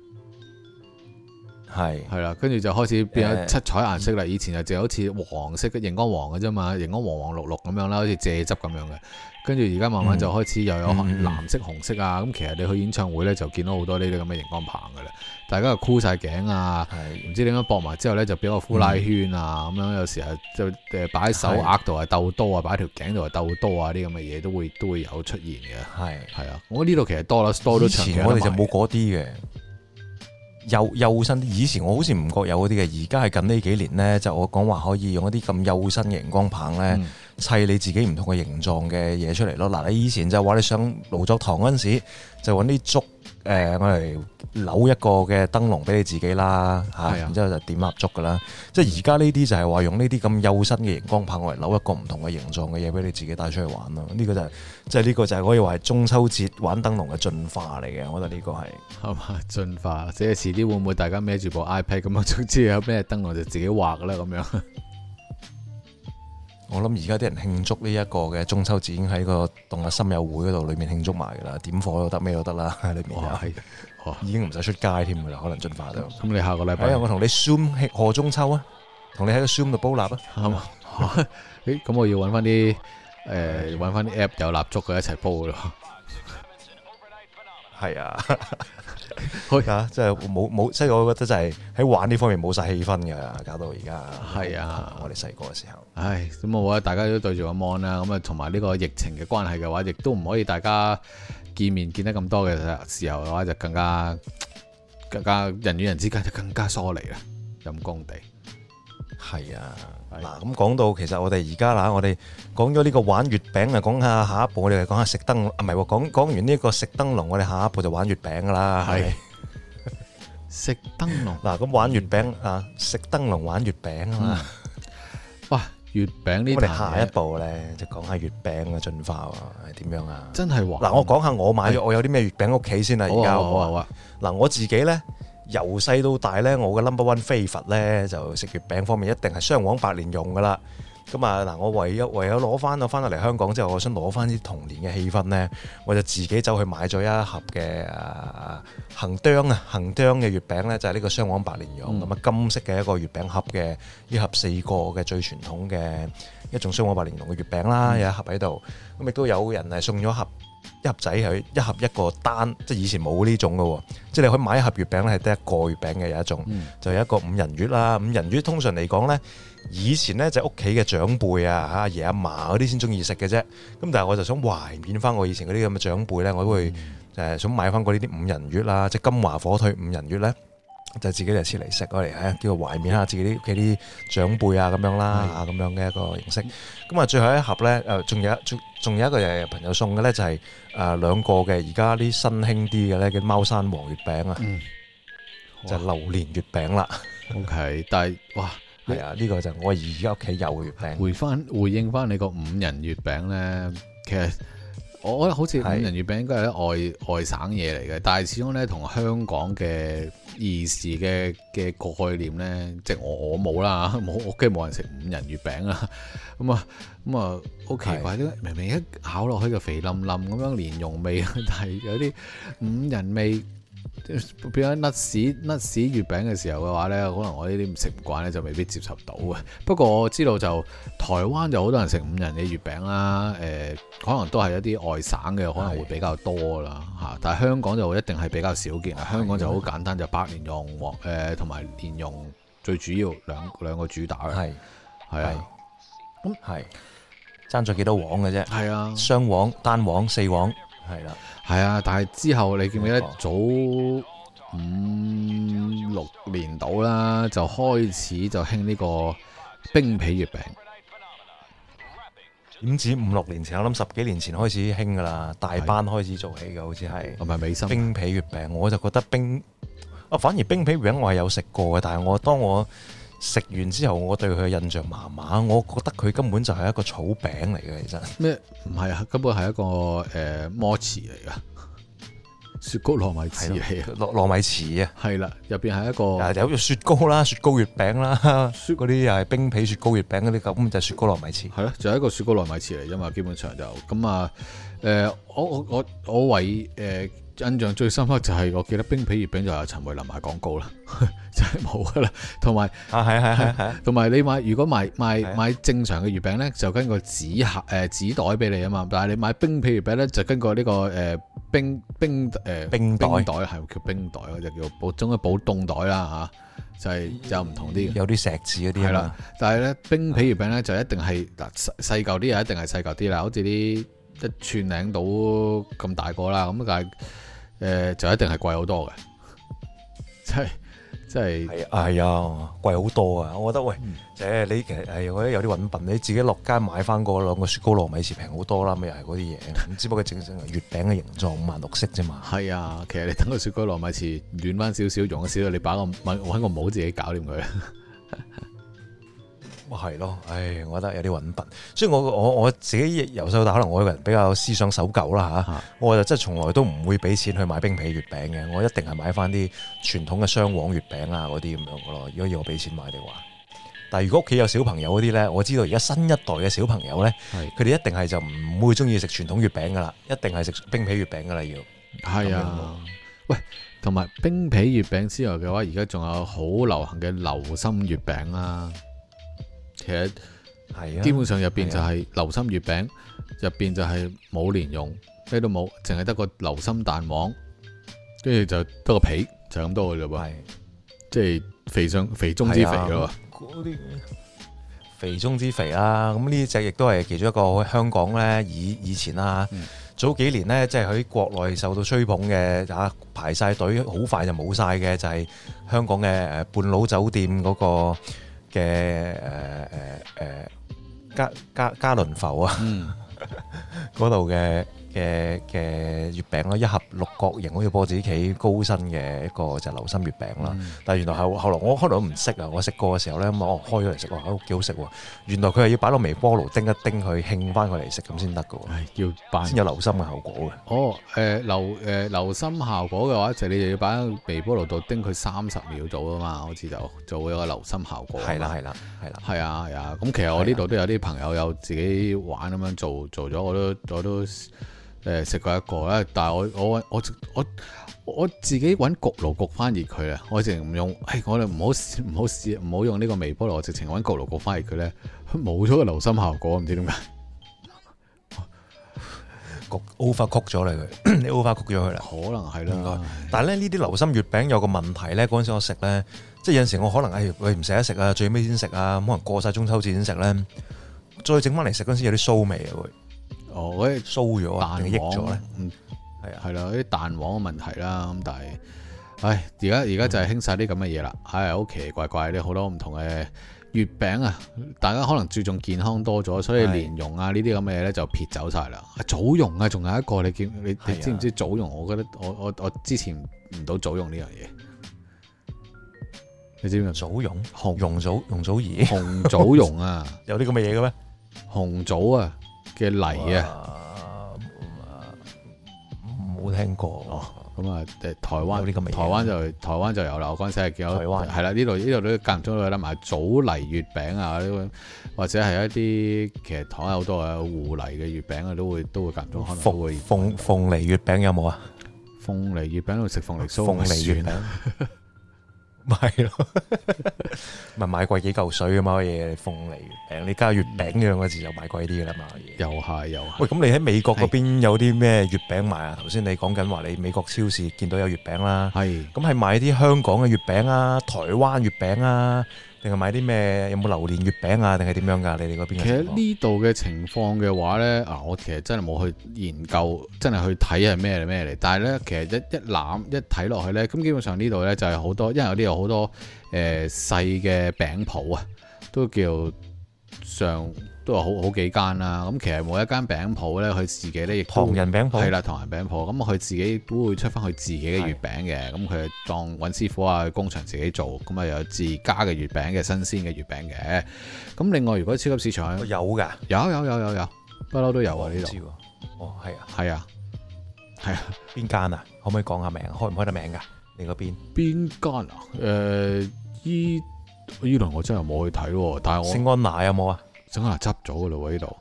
係啦，跟住就開始變咗七彩顏色啦。以前就好似黃色嘅熒光黃嘅啫嘛，熒光黃黃綠綠咁樣啦，好似蔗汁咁樣嘅。跟住而家慢慢就開始又有藍色、紅色啊。咁其實你去演唱會咧就見到好多呢啲咁嘅熒光棒噶啦。大家又箍晒頸啊，唔知點樣駁埋之後咧就變個呼拉圈啊。咁樣有時候就擺喺手額度係鬥多啊，擺喺條頸度係鬥多啊，啲咁嘅嘢都會有出現嘅。係啊，我呢度其實多啦，多都長期。以前我哋就冇嗰啲嘅。幼身啲，以前我好似唔覺有嗰啲嘅，而家係近呢幾年呢，就我講話可以用一啲咁幼身嘅熒光棒呢，砌你自己唔同嘅形狀嘅嘢出嚟咯。嗱，你以前就話你上勞作堂嗰陣時，就揾啲竹我嚟扭一個嘅燈籠俾你自己啦，然之後就點蠟燭噶啦。即係而家呢啲就係話用呢啲咁幼身嘅熒光棒我嚟扭一個唔同嘅形狀嘅嘢俾你自己帶出去玩咯。呢個就係呢個就係可以話係中秋節玩燈籠嘅進化嚟嘅。我覺得呢個係嘛進化，即係遲啲會唔會大家孭住部 iPad 咁樣，總之有咩燈籠就自己畫啦咁樣。我諗而家啲人慶祝呢一個嘅中秋節已經喺個動物森友會嗰度裏面慶祝埋噶啦，點火都得，咩都得啦，喺裏面已經唔使出街添噶啦，可能進化到。咁你下個禮拜我同你 Zoom 賀中秋啊，同你喺個 Zoom 度煲蠟啊，係嘛？咁我要揾翻啲揾翻啲 app 有蠟燭嘅一齊煲咯。係啊，即係冇，即係我覺得就係喺玩呢方面冇晒氣氛㗎，搞到而家係啊，我哋細個嘅時候。唉，咁我覺得大家都對住個 mon 啦，咁啊同埋呢個疫情嘅關係嘅話，亦都唔可以大家見面見得咁多嘅時候嘅話，就更加人與人之間就更加疏離啦，陰公地。係啊。嗱，咁講到其實我哋而家啦，我哋講咗呢個玩月餅啊，講下下一步我哋講下食燈籠，唔係喎，講完呢個食燈籠，我哋下一步就玩月餅噶啦，係食燈籠。嗱，咁玩月餅啊，食燈籠玩月餅啊嘛。哇，月餅呢？我哋下一步咧就講下月餅嘅進化喎，係點樣啊？真係玩。嗱，我講下我買咗我有啲咩月餅屋企先啦，而家好啊。嗱，我自己咧。由細到大咧，我嘅 number one favorite 咧就食月餅方面一定係雙黃白蓮蓉噶啦。咁啊嗱，我唯有攞翻到嚟香港之後，我想攞翻啲童年嘅氣氛咧，我就自己走去買咗一盒嘅恆釘嘅月餅咧，就係呢個雙黃白蓮蓉咁啊，金色嘅一個月餅盒嘅，一盒4個嘅最傳統嘅一種雙黃白蓮蓉嘅月餅啦，有一盒喺度。咁亦都有人係送咗一盒仔係一盒一個單，即係以前冇呢種嘅喎，即係你可以買一盒月餅咧係得一個月餅嘅有一種，就有一個5仁月啦。5仁月通常嚟講咧，以前咧就屋企嘅長輩啊、阿爺阿嫲嗰啲先中意食嘅啫。咁但係我就想懷緬翻我以前嗰啲咁嘅長輩咧，我都會想買翻嗰啲5仁月啦，即係金華火腿5仁月咧， 就自己嚟切嚟食，我嚟叫做懷緬下自己啲屋企啲長輩啊咁樣啦，咁樣嘅一個形式。咁啊，最後一盒咧，仲有一個朋友送嘅咧，就係兩個嘅而家啲新興啲嘅咧，叫貓山王月餅啊，就榴蓮月餅啦。 OK， 但係哇， 係啊，呢個就我而家屋企有嘅月餅。 回應翻你個5仁月餅咧，其實我覺得好似5仁月餅應該係啲外省嘢嚟嘅，但係始終咧同香港嘅兒時嘅概念咧，即係我冇啦，我屋企冇人食5仁月餅啦，咁啊好奇怪，明明一咬落去就肥冧冧咁樣蓮蓉味，但係有啲5仁味。變咗甩屎月餅嘅時候嘅話呢，可能我呢啲唔食唔慣呢，就未必接受到嘅。不過我知道就台灣就好多人食5仁嘅月餅啦，可能都係一啲外省嘅可能會比較多啦嚇。但係香港就一定係比較少見啦。香港就好簡單，就白蓮蓉同埋蓮蓉最主要兩個主打嘅。係啊，咁係爭咗幾多黃嘅啫？係啊， 雙黃、單黃、4黃，係啦。 係啊，但係之後你記唔記得早5-6年到啦，就開始就興呢個冰皮月餅。 點止5-6年前？我諗10幾年前開始興噶啦，大班開始做起嘅，好似係。係咪美心冰皮月餅？我就覺得反而冰皮月餅我係有食過嘅，但係當我食完之後，我對佢嘅印象麻麻，我覺得佢根本就係一個草餅嚟嘅，其實咩唔係啊？根本係一個摩糍嚟噶，雪糕糯米糍嚟嘅， 糯米糍啊， 係啦，入邊係一個有雪糕啦、雪糕月餅啦，嗰啲又係冰皮雪糕月餅嗰啲，咁就係雪糕糯米糍，係咯， 就係一個雪糕糯米糍嚟啫嘛，基本上就咁啊。我為印象最深刻就係我記得冰皮月餅就有陳慧琳賣廣告啦，就係冇噶啦。同埋同埋你如果買正常嘅月餅咧，就跟個紙袋俾你啊嘛。但係你買冰皮月餅咧，就跟個呢個冰袋係叫冰袋，就叫中嘅保凍袋啦嚇，就係有唔同啲， 有啲石字嗰啲係啦。 但係咧冰皮月餅咧就一定係細嚿啲，又一定係細嚿啲啦，好似啲1寸零到咁大個啦，咁但係就一定係貴好多嘅，真係係啊，貴好多啊！我覺得喂，你其實我覺得有啲揾笨，你自己落街買翻嗰2個雪糕糯米糍平好多啦，咪又係嗰啲嘢，只不過整成月餅嘅形狀5顏6色啫嘛。係啊，其實你等個雪糕糯米糍暖翻少少，溶少少，你揾個帽自己搞掂佢。 係咯，我覺得有啲揾笨，所以我自己由細到大，可能我個人比較思想守舊啦嚇，我就真係從來都唔會俾錢去買冰皮月餅嘅，我一定係買翻啲傳統嘅雙黃月餅啊嗰啲咁樣嘅咯。如果要我俾錢買嘅話，但係如果屋企有小朋友嗰啲咧，我知道而家新一代嘅小朋友咧，佢哋一定係就唔會中意食傳統月餅噶啦，一定係食冰皮月餅噶啦要。係啊， 喂，同埋冰皮月餅之外嘅話，而家仲有好流行嘅流心月餅啦。其實係啊，基本上入邊就係流心月餅，入邊就係冇蓮蓉，咩都冇，淨係得個流心蛋黃，跟住就得個皮，就咁多嘅啫噃。即係肥中之肥咯。 嗰啲肥中之肥啦，咁呢隻亦都係其中一個香港咧，以前啦，早幾年咧，即係喺國內受到吹捧嘅排晒隊，好快就冇晒嘅，就係香港嘅半島酒店嗰個嘅嘉麟阜啊，嗰度嘅月餅咯，一盒6角形，好似波子棋高身嘅一個就流心月餅啦。但係原來後來我開頭都唔識啊，我食過嘅時候咧，咁我開咗嚟食，哇，都幾好食喎！原來佢係要擺落微波爐叮一叮佢，興翻佢嚟食咁先得㗎喎，要先有流心嘅效果嘅。 流心效果嘅話，就你就要擺喺微波爐度叮佢30秒到啊嘛，好似就做一個流心效果。係啦。係啊。咁其實我呢度都有啲朋友有自己玩咁樣做咗，我都食過一個咧，但係我自己揾焗爐焗翻熱佢啊！我直情唔用，我哋唔好用呢個微波爐，我直情揾焗爐焗翻熱佢咧，冇咗個流心效果，唔知點解焗 overcook 咗佢，你 overcook 咗佢啦， 可能係啦。 但係咧呢啲流心月餅有個問題咧，嗰陣時我食咧，即係有陣時我可能唔捨得食啊，最尾先食啊，可能過晒中秋節先食咧，再整翻嚟食嗰陣時有啲臊味啊會。嗰啲酥咗啊，定係益咗咧？係啦，啲蛋黃嘅問題啦。咁但係， 唉，而家就係興晒啲咁嘅嘢啦，係好奇奇怪怪啲好多唔同嘅月餅啊！大家可能注重健康多咗，所以蓮蓉啊呢啲咁嘅嘢咧就撇走晒啦。棗蓉啊，仲有一個你知唔知棗蓉？我覺得我之前唔到棗蓉呢樣嘢，你知唔知棗蓉？ 容祖兒？ 紅棗蓉啊， 有啲咁嘅嘢嘅咩？ 紅棗啊嘅泥啊， 冇聽過。 哦咁啊，台灣台灣就有啦。我嗰陣時係見到， 台灣係啦，呢度都間唔中都有得買棗泥月餅啊，或者係一啲其實台灣好多嘅芋泥嘅月餅啊，都會間唔中可能都會。 鳳梨月餅有冇啊？ 鳳梨月餅度食鳳梨酥， 鳳梨月餅。咪係咯，咪買貴幾嚿水啊嘛嘢，鳳梨月餅，你加月餅呢兩個字就買貴啲噶啦嘛嘢。又係。喂，咁你喺美國嗰邊有啲咩月餅賣啊？頭先你講緊話你美國超市見到有月餅啦，係。咁係買啲香港嘅月餅啊，台灣月餅啊，定係買啲咩？有冇榴蓮月餅啊？定係點樣㗎？你哋嗰邊？ 其實呢度嘅情況嘅話咧，我其實真係冇去研究，真係去睇係咩嚟。但係咧，其實一睇落去咧，咁基本上呢度咧就係好多，因為有啲有好多細嘅餅鋪啊，都叫都有好幾間啦。咁其實每一間餅鋪咧，佢自己咧亦唐人餅鋪係啦， 唐人餅鋪。咁佢自己都會出翻佢自己嘅月餅嘅。咁佢當揾師傅啊，工場自己做。咁啊有自家嘅月餅嘅新鮮嘅月餅嘅。咁另外如果超級市場有㗎， 有，不嬲都有啊呢度。 哦，係啊， 係啊， 邊間啊？可唔可以講下名？開唔開得名㗎？你嗰邊邊間啊？依輪我真係冇去睇喎，但係我聖安娜有冇啊？ 聖安娜執咗㗎咯喎，呢度。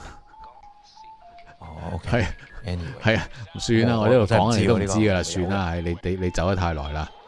哦，OK， 係啊，唔算啦，我呢度講你都唔知㗎啦，算啦，係你走得太耐啦。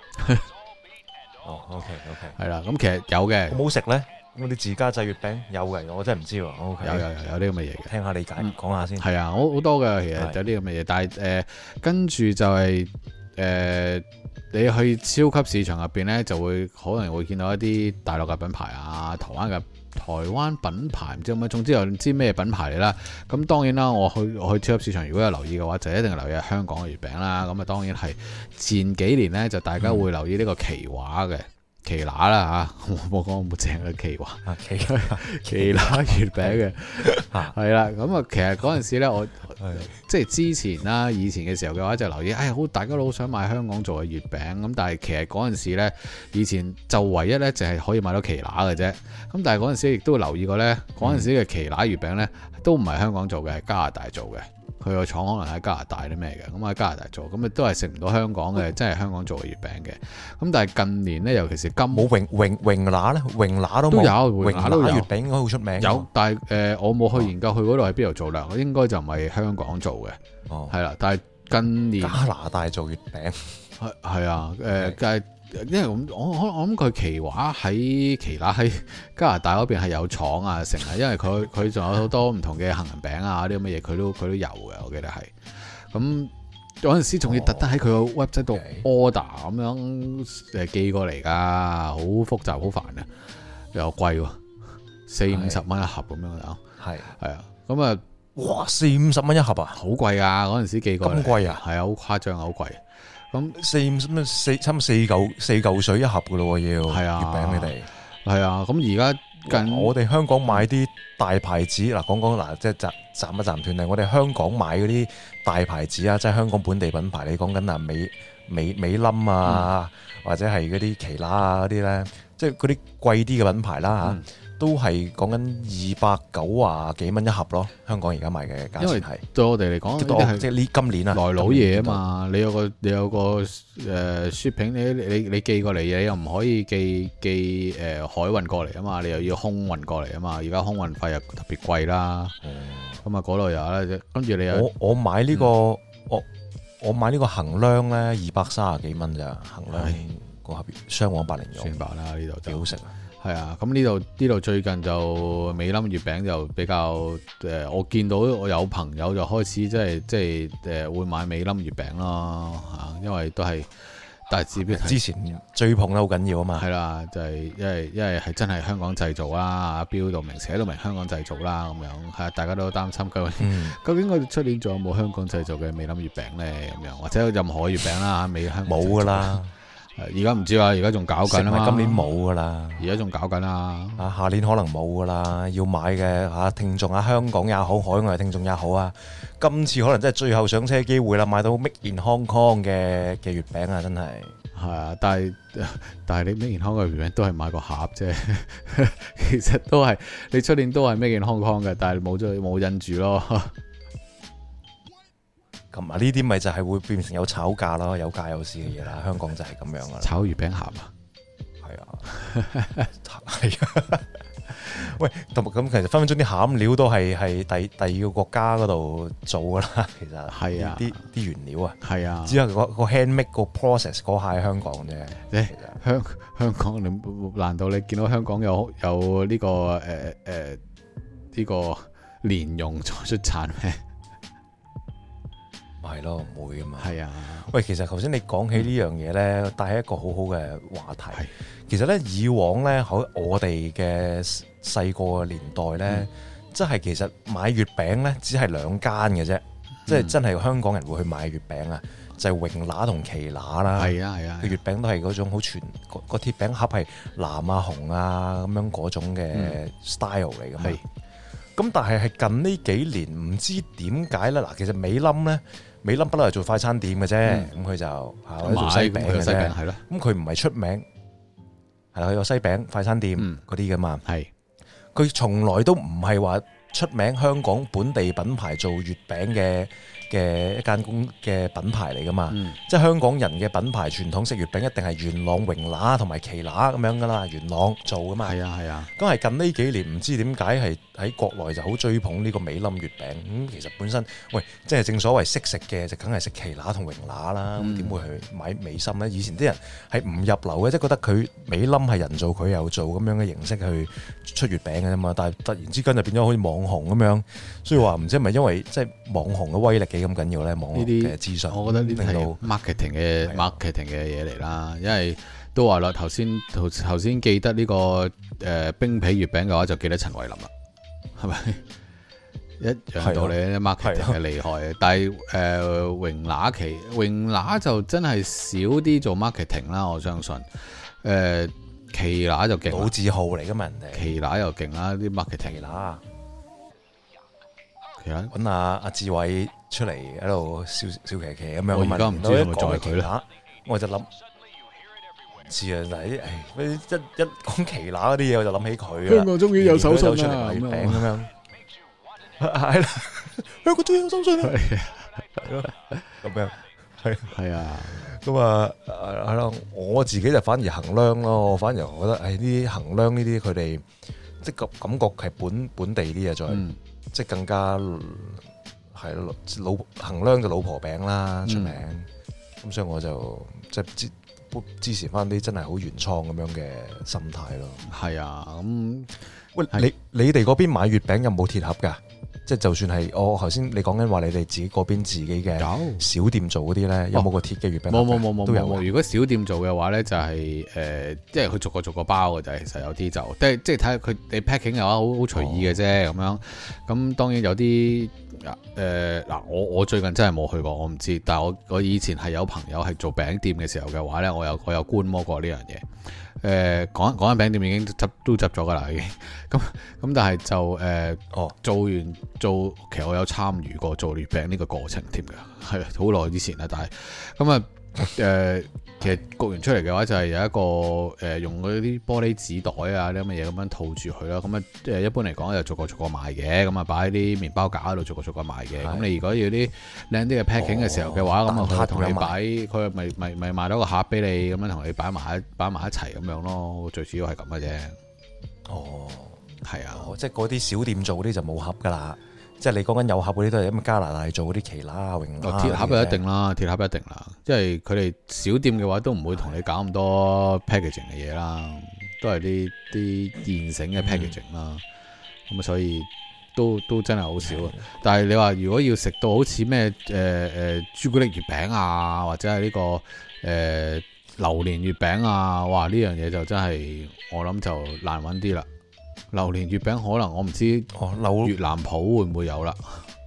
哦，OK， 係啦，咁其實有嘅。 好唔好食咧？咁啲自家製月餅有嘅，我真係唔知喎。OK， 有啲咁嘅嘢嘅， 聽下理解，講下先。 係啊，好多嘅，其實有啲咁嘅嘢，但係跟住就係你去超級市場入邊咧，就會可能會見到一啲大陸嘅品牌啊，台灣品牌唔知咩，總之又唔知咩品牌嚟啦。咁當然啦，我去超級市場如果有留意嘅話，就一定係留意香港嘅月餅啦。咁啊，當然係前幾年咧，就大家會留意呢個奇華嘅奇拿啦嚇，我冇講冇正嘅奇華奇拿月餅嘅，係啦。咁啊，其實嗰陣時咧，我即係之前啦，以前嘅時候嘅話就留意，大家都好想買香港做嘅月餅。咁但係其實嗰陣時咧，以前就唯一咧就係可以買到奇拿嘅啫。咁但係嗰陣時亦都留意過咧，嗰陣時嘅奇拿月餅咧都唔係香港做嘅，係加拿大做嘅。佢個廠可能喺加拿大啲咩嘅，咁喺加拿大做，咁啊都係食唔到香港嘅，真係香港做嘅月餅嘅。咁但係近年咧，尤其是冇榮拿咧，榮拿都有， 榮拿月餅應該好出名。 有，但係我冇去研究佢嗰度喺邊度做啦，應該就唔係香港做嘅。哦，係啦，但係近年加拿大做月餅係啊，但係。因為我諗佢奇華喺奇拿喺加拿大嗰邊係有廠啊成啊，因為佢仲有好多唔同嘅杏仁餅啊啲咁嘅嘢，佢都有嘅，我記得係。咁嗰陣時仲要特登喺佢個 website 度 order 咁樣寄過嚟㗎，好複雜好煩啊，又貴喎，40-50蚊一盒咁樣啊，係啊，咁啊， 哇40-50蚊一盒啊， 好貴啊！嗰陣時寄過嚟咁貴啊， 係啊，好誇張啊，好貴。咁差唔多4嚿水一盒噶咯喎，要係啊月餅你哋係啊。咁而家我哋香港買啲大牌子嗱，講嗱，即係暫一暫斷嚟。我哋香港買嗰啲大牌子啊，即係香港本地品牌，你講緊啊美冧啊，或者係嗰啲奇拿啊嗰啲咧，即係嗰啲貴啲嘅品牌啦嚇。都係講緊290幾蚊一盒咯，香港而家賣嘅價錢係。因為對我哋嚟講，即係呢今年啊， 來老嘢啊嘛，你有個shipping，你寄過嚟嘢，你又唔可以寄海運過嚟啊嘛，你又要空運過嚟啊嘛，而家空運費又特別貴啦。咁啊嗰度有啦，跟住你有我買呢個我買呢個衡量咧230幾蚊咋，衡量個盒雙黃白蓮蓉。 算白啦，呢度幾好食啊！ 係啊，咁呢度最近就美冧月餅就比較我見到我有朋友就開始即係會買美冧月餅咯嚇，因為都係但係只不過之前追捧得好緊要啊嘛。 係啦，就係因為係真係香港製造啦，阿標到明寫到明香港製造啦，咁樣係大家都擔心究竟我哋出年仲有冇香港製造嘅美林月餅咧？咁樣或者任何月餅啦，美香港冇噶啦。 而家唔知啊，而家仲搞緊啊嘛。 今年冇噶啦， 而家仲搞緊啊。 下年可能冇噶啦。要買嘅聽眾香港也好，海外聽眾也好啊，今次可能真係最後上車機會啦，買到 Made in Hong Kong 嘅月餅啊，真係。 係啊，但係你 Made in Hong Kong 嘅月餅都係買個盒啫，其實都係你出年都係 Made in Hong Kong 嘅，但係冇印住咯。 咁呢啲咪就係會變成有炒價咯，有價有市嘅嘢啦。香港就係咁樣噶啦。 炒月餅盒啊， 係啊，係啊。喂，咁其實分分鐘啲餡料都係第二個國家嗰度做噶啦。其實係啊，啲原料啊，係啊，只係個 handmade 個 process 嗰下喺香港啫。香港你難道你見到香港有呢個呢個蓮蓉再出產咩？ 係咯，唔會噶嘛。係啊，喂，其實頭先你講起呢樣嘢咧，帶起一個好好嘅話題。其實咧，以往咧喺我哋嘅細個嘅年代咧，即係其實買月餅咧，只係兩間嘅啫，即係真係香港人會去買月餅啊，就係榮拿同奇拿啦。係啊係啊，月餅都係嗰種好全個鐵餅盒係藍啊紅啊咁樣嗰種嘅 style 嚟噶嘛。咁但係近呢幾年唔知點解咧，嗱，其實美林不嬲係做快餐店嘅啫，咁佢就或者做西餅嘅啫，係咯。咁佢唔係出名，係啦，佢有西餅快餐店嗰啲噶嘛。係，佢從來都唔係話出名香港本地品牌做月餅嘅一間嘅品牌嚟噶嘛。即係香港人嘅品牌傳統式月餅一定係元朗榮拿同埋奇拿咁樣噶啦，元朗做噶嘛。係啊係啊。咁係近呢幾年唔知點解係喺國內就好追捧呢個美林月餅。咁其實本身喂，即係正所謂識食嘅就梗係食奇拿同榮拿啦。咁點會去買美心咧？以前啲人係唔入流嘅，即係覺得佢美林係人做，佢又做咁樣嘅形式去出月餅嘅啫嘛。但係突然之間就變咗好似網紅咁樣，所以話唔知係咪因為即係網紅嘅威力幾咁緊要咧？網絡嘅資訊，我覺得呢啲係 marketing 嘅嘢嚟啦。因為都話啦，頭先記得呢個冰皮月餅嘅話，就記得陳慧琳啦，係咪一樣道理？marketing 係厲害，但係榮拿就真係少啲做 marketing 啦。我相信奇拿就勁，老字號嚟噶嘛，人哋奇拿又勁啦，啲 marketing 啦。揾阿志偉出嚟喺度笑騎騎咁樣，我而家唔知係咪就係佢啦。我就諗，知啊，嗱啲一講奇拿嗰啲嘢，我就諗起佢啦。香港終於有手信啦，月餅咁樣，係啦，香港終於有手信啦，係咯，咁樣係啊，咁啊係咯，我自己就反而衡量咯，我反而覺得係啲衡量呢啲佢哋即係感覺係本地啲嘢再。即係更加係咯，衡量就老婆餅啦出名，咁所以我就即係支持翻啲真係好原創咁樣嘅心態咯。係啊，咁喂，你哋嗰邊買月餅有冇鐵盒㗎？即係就算係我頭先你講緊話，你哋自己嗰邊自己嘅小店做嗰啲咧，有冇個鐵嘅月餅？冇都有。如果小店做嘅話咧，就係即係佢逐個包嘅就係，其實有啲就即係睇下佢你 packing 嘅話，好隨意嘅啫咁樣。咁當然有啲嗱，我最近真係冇去過，我唔知。但係我以前係有朋友係做餅店嘅時候嘅話咧，我有觀摩過呢樣嘢。講緊餅店已經都執咗噶啦，已經咁但係就其實我有參與過做月餅呢個過程添㗎，係好耐之前啦。但係咁啊其實焗完出嚟嘅話就係有一個用嗰啲玻璃紙袋啊啲咁嘅嘢咁樣套住佢啦。咁啊一般嚟講就逐個賣嘅，咁啊擺喺啲麵包架嗰度逐個賣嘅。咁你如果要啲靚啲嘅 packing 嘅時候嘅話，咁啊佢同你擺，佢咪賣到個盒俾你，咁樣同你擺埋一齊咁樣咯。最主要係咁嘅啫。哦，係啊，即係嗰啲小店做嗰啲就冇盒噶啦。即係你講緊有盒嗰啲都係咁加拿大做嗰啲奇拿榮拿。鐵盒就一定啦，鐵盒一定啦。即係佢哋小店嘅話都唔會同你搞咁多 packaging 嘅嘢啦，都係啲現成嘅 packaging 啦。咁所以都真係好少。但係你話如果要食到好似咩朱古力月餅啊，或者係呢個榴蓮月餅啊，哇！呢樣嘢就真係我諗就難揾啲啦。榴蓮月餅可能我唔知越南鋪會唔會有啦。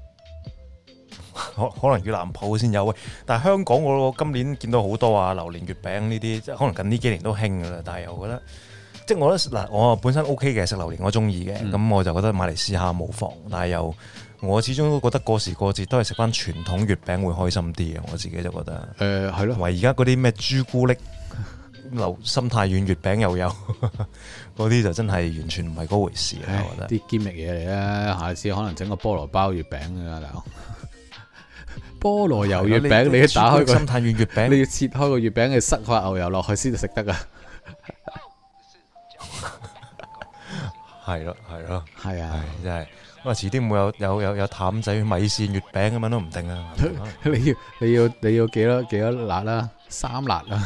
可能越南鋪先有喂，但係香港我今年見到好多啊榴蓮月餅呢啲，即係可能近呢幾年都興噶啦。但係我覺得，即係我覺得嗱，我本身 OK 嘅食榴蓮，我中意嘅，咁我就覺得買嚟試下冇妨。但係又我始終都覺得過時過節都係食翻傳統月餅會開心啲嘅，我自己就覺得。係咯，同埋而家嗰啲咩朱古力心太軟月餅又有，嗰啲就真係完全唔係嗰回事啦。我覺得啲堅力嘢嚟啦，下次可能整個菠蘿包月餅啊，大佬。菠蘿油月餅，你要打開個心太軟月餅， 你要切開個月餅，你塞塊牛油落去先至食得噶。 係咯， 係啊， 真係。咁啊，遲啲會有淡仔米線月餅咁樣都唔定啊。 你要幾多辣啦？3辣啊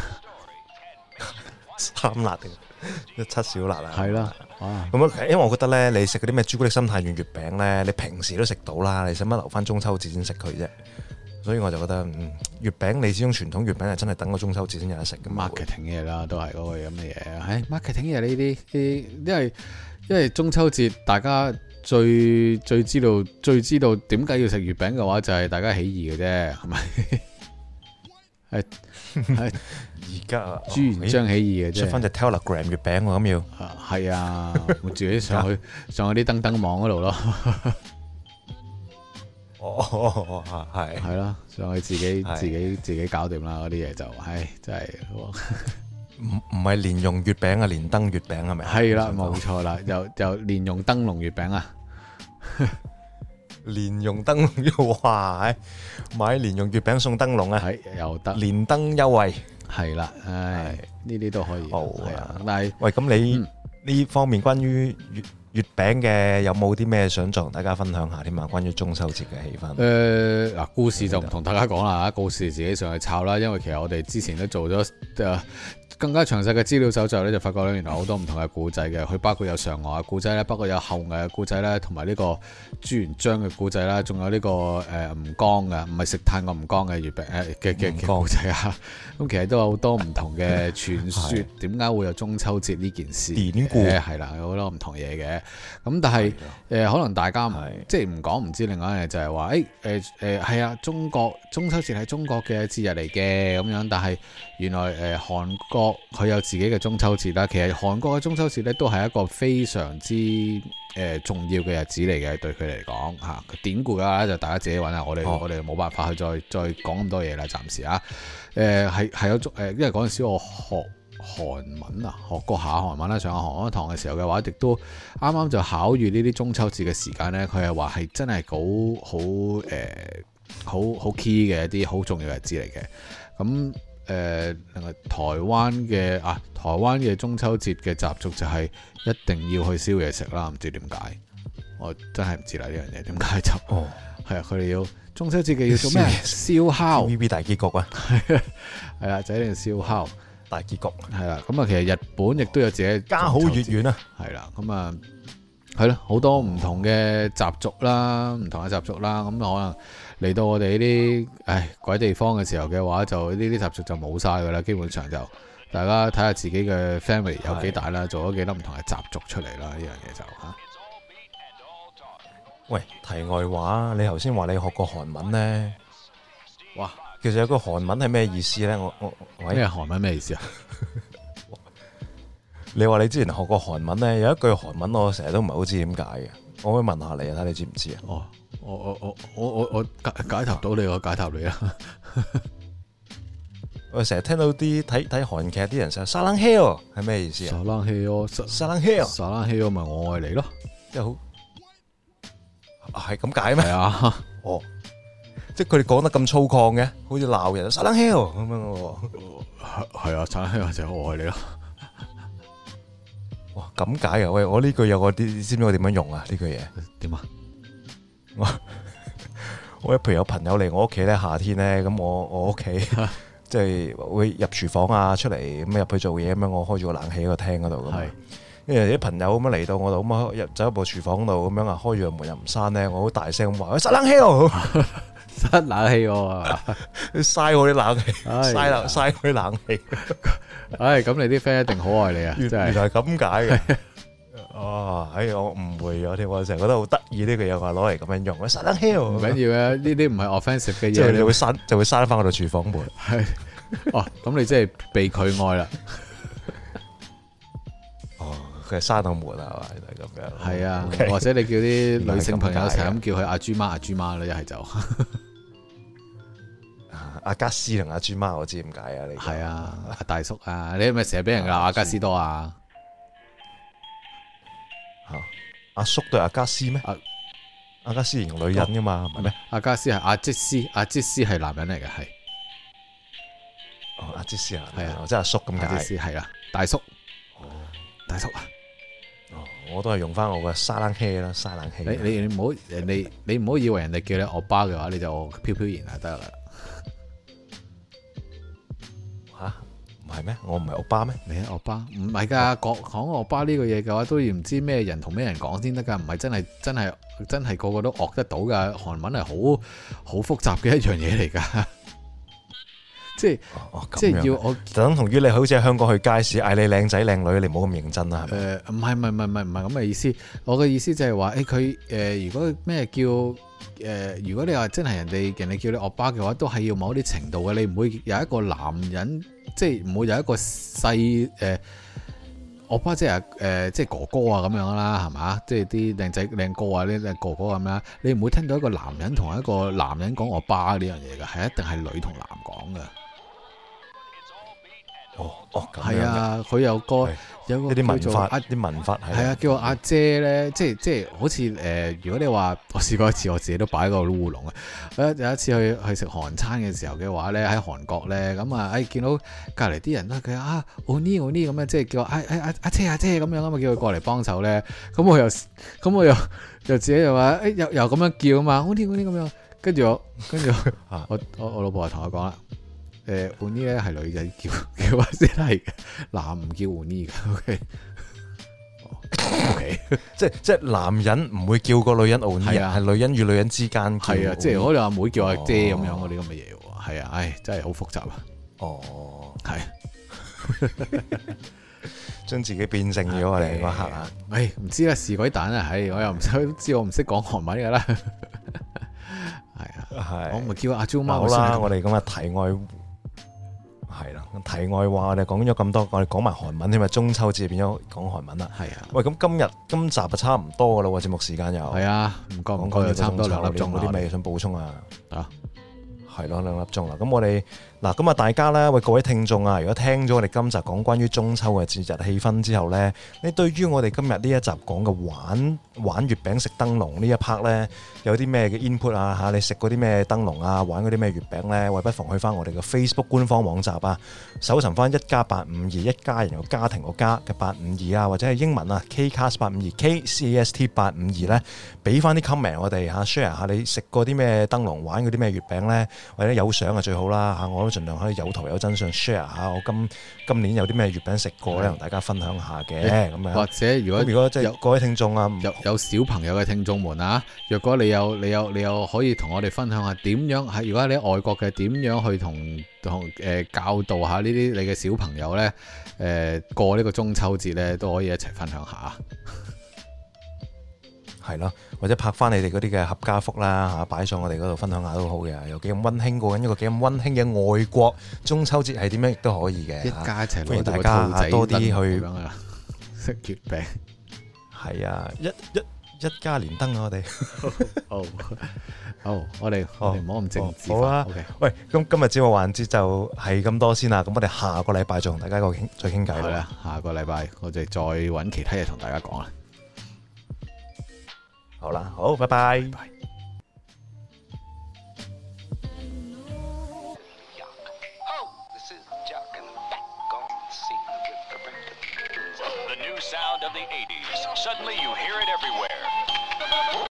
，3辣定7小辣啊？ 係啦。 咁因為我覺得咧，你食嗰啲咩朱古力心太軟月餅咧，你平時都食到啦，你使乜留翻中秋節先食佢啫？所以我就覺得，月餅你始終傳統月餅係真係等個中秋節先有得食嘅。 marketing 嘢啦，都係嗰個咁嘅嘢。marketing 嘢呢啲，因為中秋節大家最知道點解要食月餅嘅話，就係大家起義嘅啫，係咪？係而家朱元璋起義嘅啫， 出翻隻 Telegram 月餅喎，咁要係啊，我自己上去啲燈燈網嗰度咯。係啦，上去自己搞掂啦，嗰啲嘢就，真係唔係蓮蓉月餅啊，連燈月餅係咪？ 係啦，冇錯啦，又蓮蓉燈籠月餅啊， 蓮蓉燈籠哇，買蓮蓉月餅送燈籠啊， 係又得連燈優惠， 係啦，呢啲都可以，係啊，但係喂，咁你呢方面關於月餅嘅有冇啲咩想同大家分享下添啊？關於中秋節嘅氣氛。 嗱，故事就唔同大家講啦，故事自己上去抄啦。因為其實我哋之前都做咗更加詳細嘅資料搜集咧，就發覺咧原來好多唔同嘅故仔嘅，佢包括有嫦娥嘅故仔咧，包括有后羿嘅故仔咧，同埋呢個朱元璋嘅故仔啦，仲有呢個吳剛嘅，唔係食炭個吳剛嘅月餅嘅故仔啊。咁其實都有好多唔同嘅傳說，點解會有中秋節呢件事？典故係啦，有好多唔同嘢嘅。咁但係可能大家即係唔講唔知，另外一樣就係話係啊，中秋節係中國嘅節日嚟嘅咁樣，但係原來韓國佢有自己嘅中秋節啦。其實韓國嘅中秋節咧都係一個非常之重要嘅日子嚟嘅，對佢嚟講嚇。典故嘅話就大家自己揾下，我哋冇辦法去再講咁多嘢啦，暫時啊。係有因為嗰陣時我學韓文啊，學過下韓文啦，上下韓文堂嘅時候嘅話，亦都啱啱就考遇呢啲中秋節嘅時間呢，佢係話係真係好 key 嘅一啲好重要嘅日子嚟嘅。咁另外台灣嘅中秋節嘅習俗就係一定要去燒嘢食啦，唔知點解，我真係唔知啦呢樣嘢點解就係啊，佢哋要中秋節嘅要做咩？燒烤 TVB 大結局啊， 係啦，就一定要燒烤大結局係啦。咁啊，其實日本亦都有自己家好月圓啊， 係啦。咁啊係咯，好多唔同嘅習俗啦，唔同嘅習俗啦。咁可能嚟到我哋呢啲鬼地方嘅時候嘅話，就呢啲習俗就冇晒噶啦。基本上就大家睇下自己嘅 family 有幾大啦，做咗幾多唔同嘅習俗出嚟啦。呢樣嘢就嚇。 喂，題外話，你頭先話你學過韓文呢？ 哇， 其實有個韓文係咩意思呢？ 咩韓文咩意思啊？ 你話你之前學過韓文呢，有一句韓文我成日都唔係好知點解嘅，我可以問下你啊，睇你知唔知啊？ 哦，我解答到你，我解答你啦。 我成日聽到啲睇韓劇啲人成日沙冷 hell 係咩意思啊？沙冷 hell 咪我愛你咯， 即係好。係咁解咩？ 係啊， 即係佢哋講得咁粗獷嘅，好似鬧人，沙冷 hell 咁樣喎。 係啊，沙冷 hell 就係我愛你咯。 哇，咁解啊？喂，我呢句有個啲，知唔知我點樣用啊？呢句嘢點啊？ 我譬如有朋友嚟我屋企咧，夏天咧，咁我屋企即係會入廚房啊，出嚟咁入去做嘢咁樣，我開住個冷氣喺個廳嗰度咁。因為啲朋友咁樣嚟到我度，咁啊入走一部廚房度咁樣啊，開住個門又唔閂咧，我好大聲咁話：喂，沙冷 hell！ 塞冷氣喎， 嘥我啲冷氣， 唉嘥佢啲冷氣。 唉，咁你啲 friend 一定好愛你啊！真係原來係咁解嘅。哦，我誤會咗添，我成日覺得好得意呢個嘢，話攞嚟咁樣用，塞冷氣唔緊要嘅，呢啲唔係 offensive 嘅嘢， 即係你會閂翻我度廚房門。 係，哦，咁你真係被佢愛啦。 哦，佢係閂到門啊，係嘛？就係咁樣。 係啊， Okay 或者你叫啲女性朋友成日咁叫佢阿豬媽阿豬媽啦，一係就阿加斯同阿豬媽，我知點解啊？你係啊，阿大叔啊，你係咪成日俾人鬧阿加斯多啊？ 阿叔對阿加斯咩？阿加斯形容女人噶嘛，係咪咩？ 阿加斯係阿傑斯，阿傑斯係男人嚟嘅，係。 阿傑斯啊， 係啊， 即係阿叔咁解。 阿傑斯係啊，大叔。大叔啊！ 我都係用翻我嘅沙冷氣啦，沙冷氣。 你唔好你唔好以為人哋叫你歐巴嘅話，你就飄飄然就得啦。 吓？唔係咩？我唔係歐巴咩？ 你係歐巴？唔係㗎，講歐巴呢個嘢嘅話，都要唔知咩人同咩人講先得㗎，唔係真係個個都學得到㗎。韓文係好複雜嘅一樣嘢嚟㗎。即係要我等同於你好似喺香港去街市嗌你靚仔靚女，你唔好咁認真啦，係咪？ 唔係咁嘅意思。我嘅意思就係話，佢如果咩叫如果你話真係人哋叫你歐巴嘅話，都係要某一啲程度嘅。你唔會有一個男人，即係唔會有一個細歐巴，即係即係哥哥啊咁樣啦，係嘛？即係啲靚仔靚哥啊，呢啲哥哥咁啦。你唔會聽到一個男人同一個男人講歐巴呢樣嘢嘅，係一定係女同男講嘅。係啊，佢有個啲文化，啲文化係啊，叫我阿姐咧，即係好似如果你話我試過一次，我自己都擺個烏龍啊！有一次去食韓餐嘅時候嘅話咧，喺韓國咧，咁啊，見到隔離啲人咧，佢啊奧尼咁樣，即係叫阿姐咁樣啊嘛，叫佢過嚟幫手咧，咁我又自己又話又咁樣叫啊嘛，奧尼咁樣，跟住我老婆就同我講啦。奧尼咧係女仔叫先係嘅，男唔叫奧尼嘅。OK， 即係男人唔會叫個女人奧尼，係女人與女人之間叫。 係啊，即係我哋阿妹叫阿姐咁樣嗰啲咁嘅嘢喎。係啊，唉，真係好複雜啊。 哦， 係將自己變成咗我哋嗰刻啊！ 唉，唔知啦，是鬼蛋啊！唉，我又唔知我唔識講韓文㗎啦。係啊，我咪叫阿 Jo 媽。 好啦，我哋咁嘅題外。係啦，題外話我哋講咗咁多，我哋講埋韓文添啊！中秋節變咗講韓文啦。係啊，喂，咁今集就差唔多噶啦喎，節目時間又係啊，唔覺又差唔多2粒鐘啦。有啲咩想補充啊？係咯，2粒鐘啦。咁我哋咁啊，大家咧，喂，各位聽眾啊，如果聽咗我哋今集講關於中秋嘅節日氣氛之後咧，你對於我哋今日呢一集講嘅玩月餅食燈籠呢一 part 咧，有啲咩嘅 input 啊嚇？你食過啲咩燈籠啊？玩嗰啲咩月餅咧？喂，不妨去翻我哋嘅 Facebook 官方網站啊，搜尋翻1+852一家人有家庭個家嘅852啊，或者係英文啊 Kcast852 KCAST852咧，俾翻啲 comment 我哋嚇 share 下你食過啲咩燈籠，玩嗰啲咩月餅咧，或者有相啊最好啦嚇，我都盡量可以有圖有真相 share 下我今年有啲咩月餅食過咧，同大家分享下嘅咁樣。或者如果即係各位聽眾啊， 有小朋友嘅聽眾們啊，若果你有可以同我哋分享下點樣喺，如果你喺外國嘅點樣去同教導下呢啲你嘅小朋友咧過呢個中秋節咧，都可以一齊分享下。 係咯，或者拍翻你哋嗰啲嘅合家福啦嚇，擺上我哋嗰度分享下都好嘅。有幾咁溫馨，過緊一個幾咁溫馨嘅外國中秋節係點樣亦都可以嘅。一家一齊歡迎大家多啲去食月餅。 係啊，一家連燈啊！我哋好，我哋唔好咁政治化。 好啊，喂，咁今日節目環節就係咁多先啦。咁我哋下個禮拜再同大家再傾偈啦。 下個禮拜我哋再揾其他嘢同大家講啦。 好啦，好，拜拜。The new sound of the 80s. Suddenly you hear it everywhere.